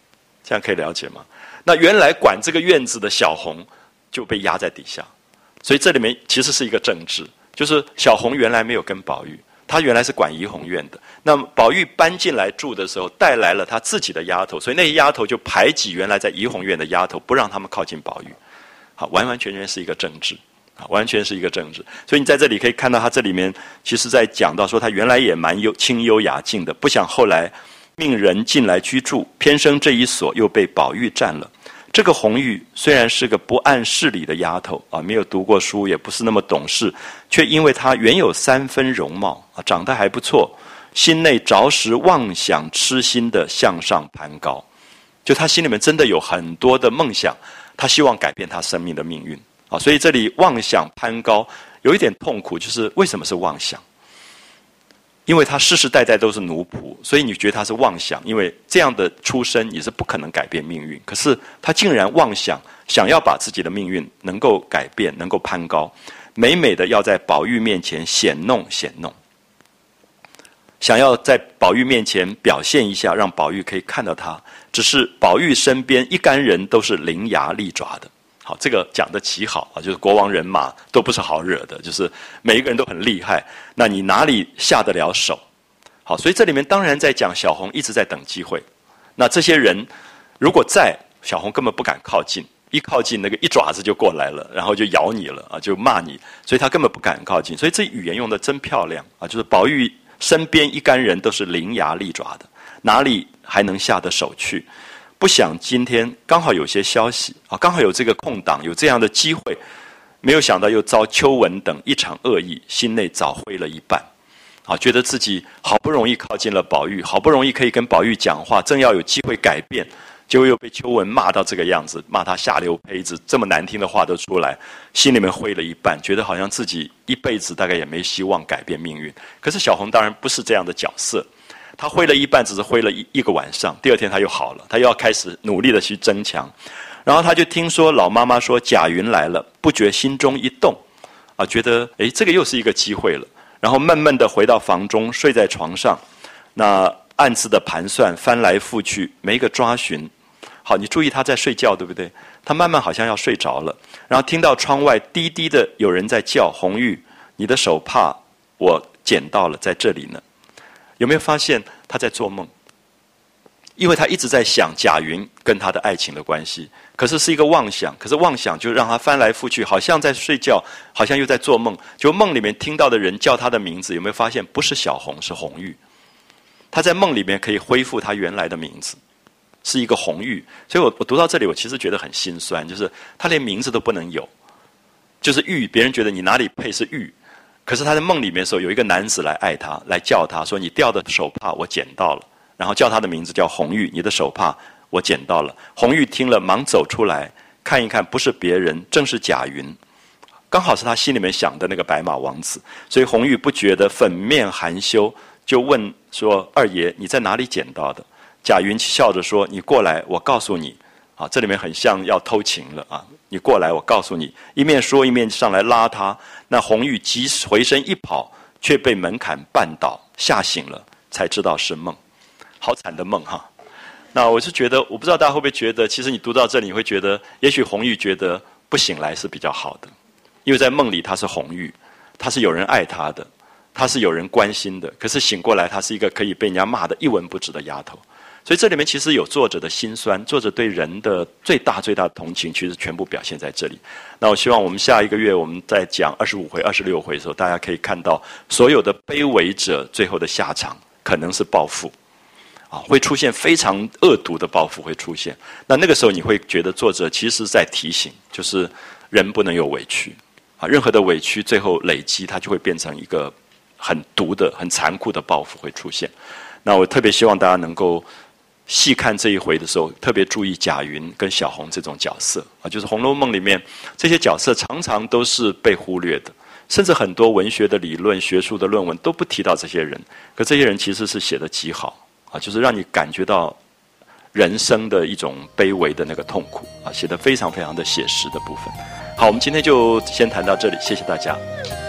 A: 这样可以了解吗？那原来管这个院子的小红就被压在底下，所以这里面其实是一个政治，就是小红原来没有跟宝玉，他原来是管怡红院的。那么宝玉搬进来住的时候，带来了他自己的丫头，所以那些丫头就排挤原来在怡红院的丫头，不让他们靠近宝玉。好，完完全全是一个政治，啊，完全是一个政治。所以你在这里可以看到，他这里面其实在讲到说，他原来也蛮优清幽雅静的，不想后来命人进来居住，偏生这一所又被宝玉占了。这个红玉虽然是个不谙事理的丫头啊，没有读过书，也不是那么懂事，却因为她原有三分容貌啊，长得还不错，心内着实妄想痴心的向上攀高。就她心里面真的有很多的梦想，她希望改变她生命的命运啊。所以这里妄想攀高有一点痛苦，就是为什么是妄想？因为他世世代代都是奴仆，所以你觉得他是妄想，因为这样的出身也是不可能改变命运。可是他竟然妄想，想要把自己的命运能够改变，能够攀高，美美的要在宝玉面前显弄显弄，想要在宝玉面前表现一下，让宝玉可以看到他。只是宝玉身边一干人都是伶牙俐爪的。好，这个讲得极好啊，就是国王人马都不是好惹的，就是每一个人都很厉害，那你哪里下得了手？好，所以这里面当然在讲小红一直在等机会。那这些人如果在，小红根本不敢靠近，一靠近那个一爪子就过来了，然后就咬你了啊，就骂你，所以他根本不敢靠近。所以这语言用得真漂亮啊，就是宝玉身边一干人都是伶牙俐爪的，哪里还能下得手去？不想今天刚好有些消息啊，刚好有这个空档，有这样的机会，没有想到又遭秋文等一场恶意，心内早灰了一半，啊，觉得自己好不容易靠近了宝玉，好不容易可以跟宝玉讲话，正要有机会改变，结果又被秋文骂到这个样子，骂他下流胚子，这么难听的话都出来，心里面灰了一半，觉得好像自己一辈子大概也没希望改变命运。可是小红当然不是这样的角色。他挥了一半，只是挥了一一个晚上，第二天他又好了，他又要开始努力的去增强。然后他就听说老妈妈说贾云来了，不觉心中一动，啊，觉得诶这个又是一个机会了。然后闷闷的回到房中，睡在床上，那暗自的盘算，翻来覆去，没个抓寻。好，你注意他在睡觉，对不对？他慢慢好像要睡着了，然后听到窗外低低的有人在叫：“红玉，你的手帕我捡到了，在这里呢。”有没有发现他在做梦？因为他一直在想贾云跟他的爱情的关系，可是是一个妄想，可是妄想就让他翻来覆去，好像在睡觉，好像又在做梦。就梦里面听到的人叫他的名字，有没有发现不是小红，是红玉？他在梦里面可以恢复他原来的名字，是一个红玉。所以我我读到这里，我其实觉得很心酸，就是他连名字都不能有，就是玉，别人觉得你哪里配是玉。可是他在梦里面的时候，有一个男子来爱他，来叫他说：“你掉的手帕我捡到了。”然后叫他的名字叫红玉，你的手帕我捡到了。红玉听了，忙走出来看一看，不是别人，正是贾云，刚好是他心里面想的那个白马王子。所以红玉不觉得粉面含羞，就问说：“二爷，你在哪里捡到的？”贾云笑着说：“你过来，我告诉你。”啊，这里面很像要偷情了啊！你过来，我告诉你。一面说一面上来拉他，那红玉急回身一跑，却被门槛绊倒，吓醒了，才知道是梦。好惨的梦哈！那我是觉得，我不知道大家会不会觉得，其实你读到这里，你会觉得，也许红玉觉得不醒来是比较好的，因为在梦里她是红玉，她是有人爱她的，她是有人关心的，可是醒过来，她是一个可以被人家骂得一文不值的丫头。所以这里面其实有作者的辛酸，作者对人的最大最大的同情，其实全部表现在这里。那我希望我们下一个月我们在讲二十五回、二十六回的时候，大家可以看到所有的卑微者最后的下场可能是报复，啊，会出现非常恶毒的报复会出现。那那个时候你会觉得作者其实在提醒，就是人不能有委屈，啊，任何的委屈最后累积，它就会变成一个很毒的、很残酷的报复会出现。那我特别希望大家能够细看这一回的时候，特别注意贾云跟小红这种角色啊，就是《红楼梦》里面这些角色常常都是被忽略的，甚至很多文学的理论、学术的论文都不提到这些人，可这些人其实是写得极好啊，就是让你感觉到人生的一种卑微的那个痛苦啊，写得非常非常的写实的部分。好，我们今天就先谈到这里，谢谢大家。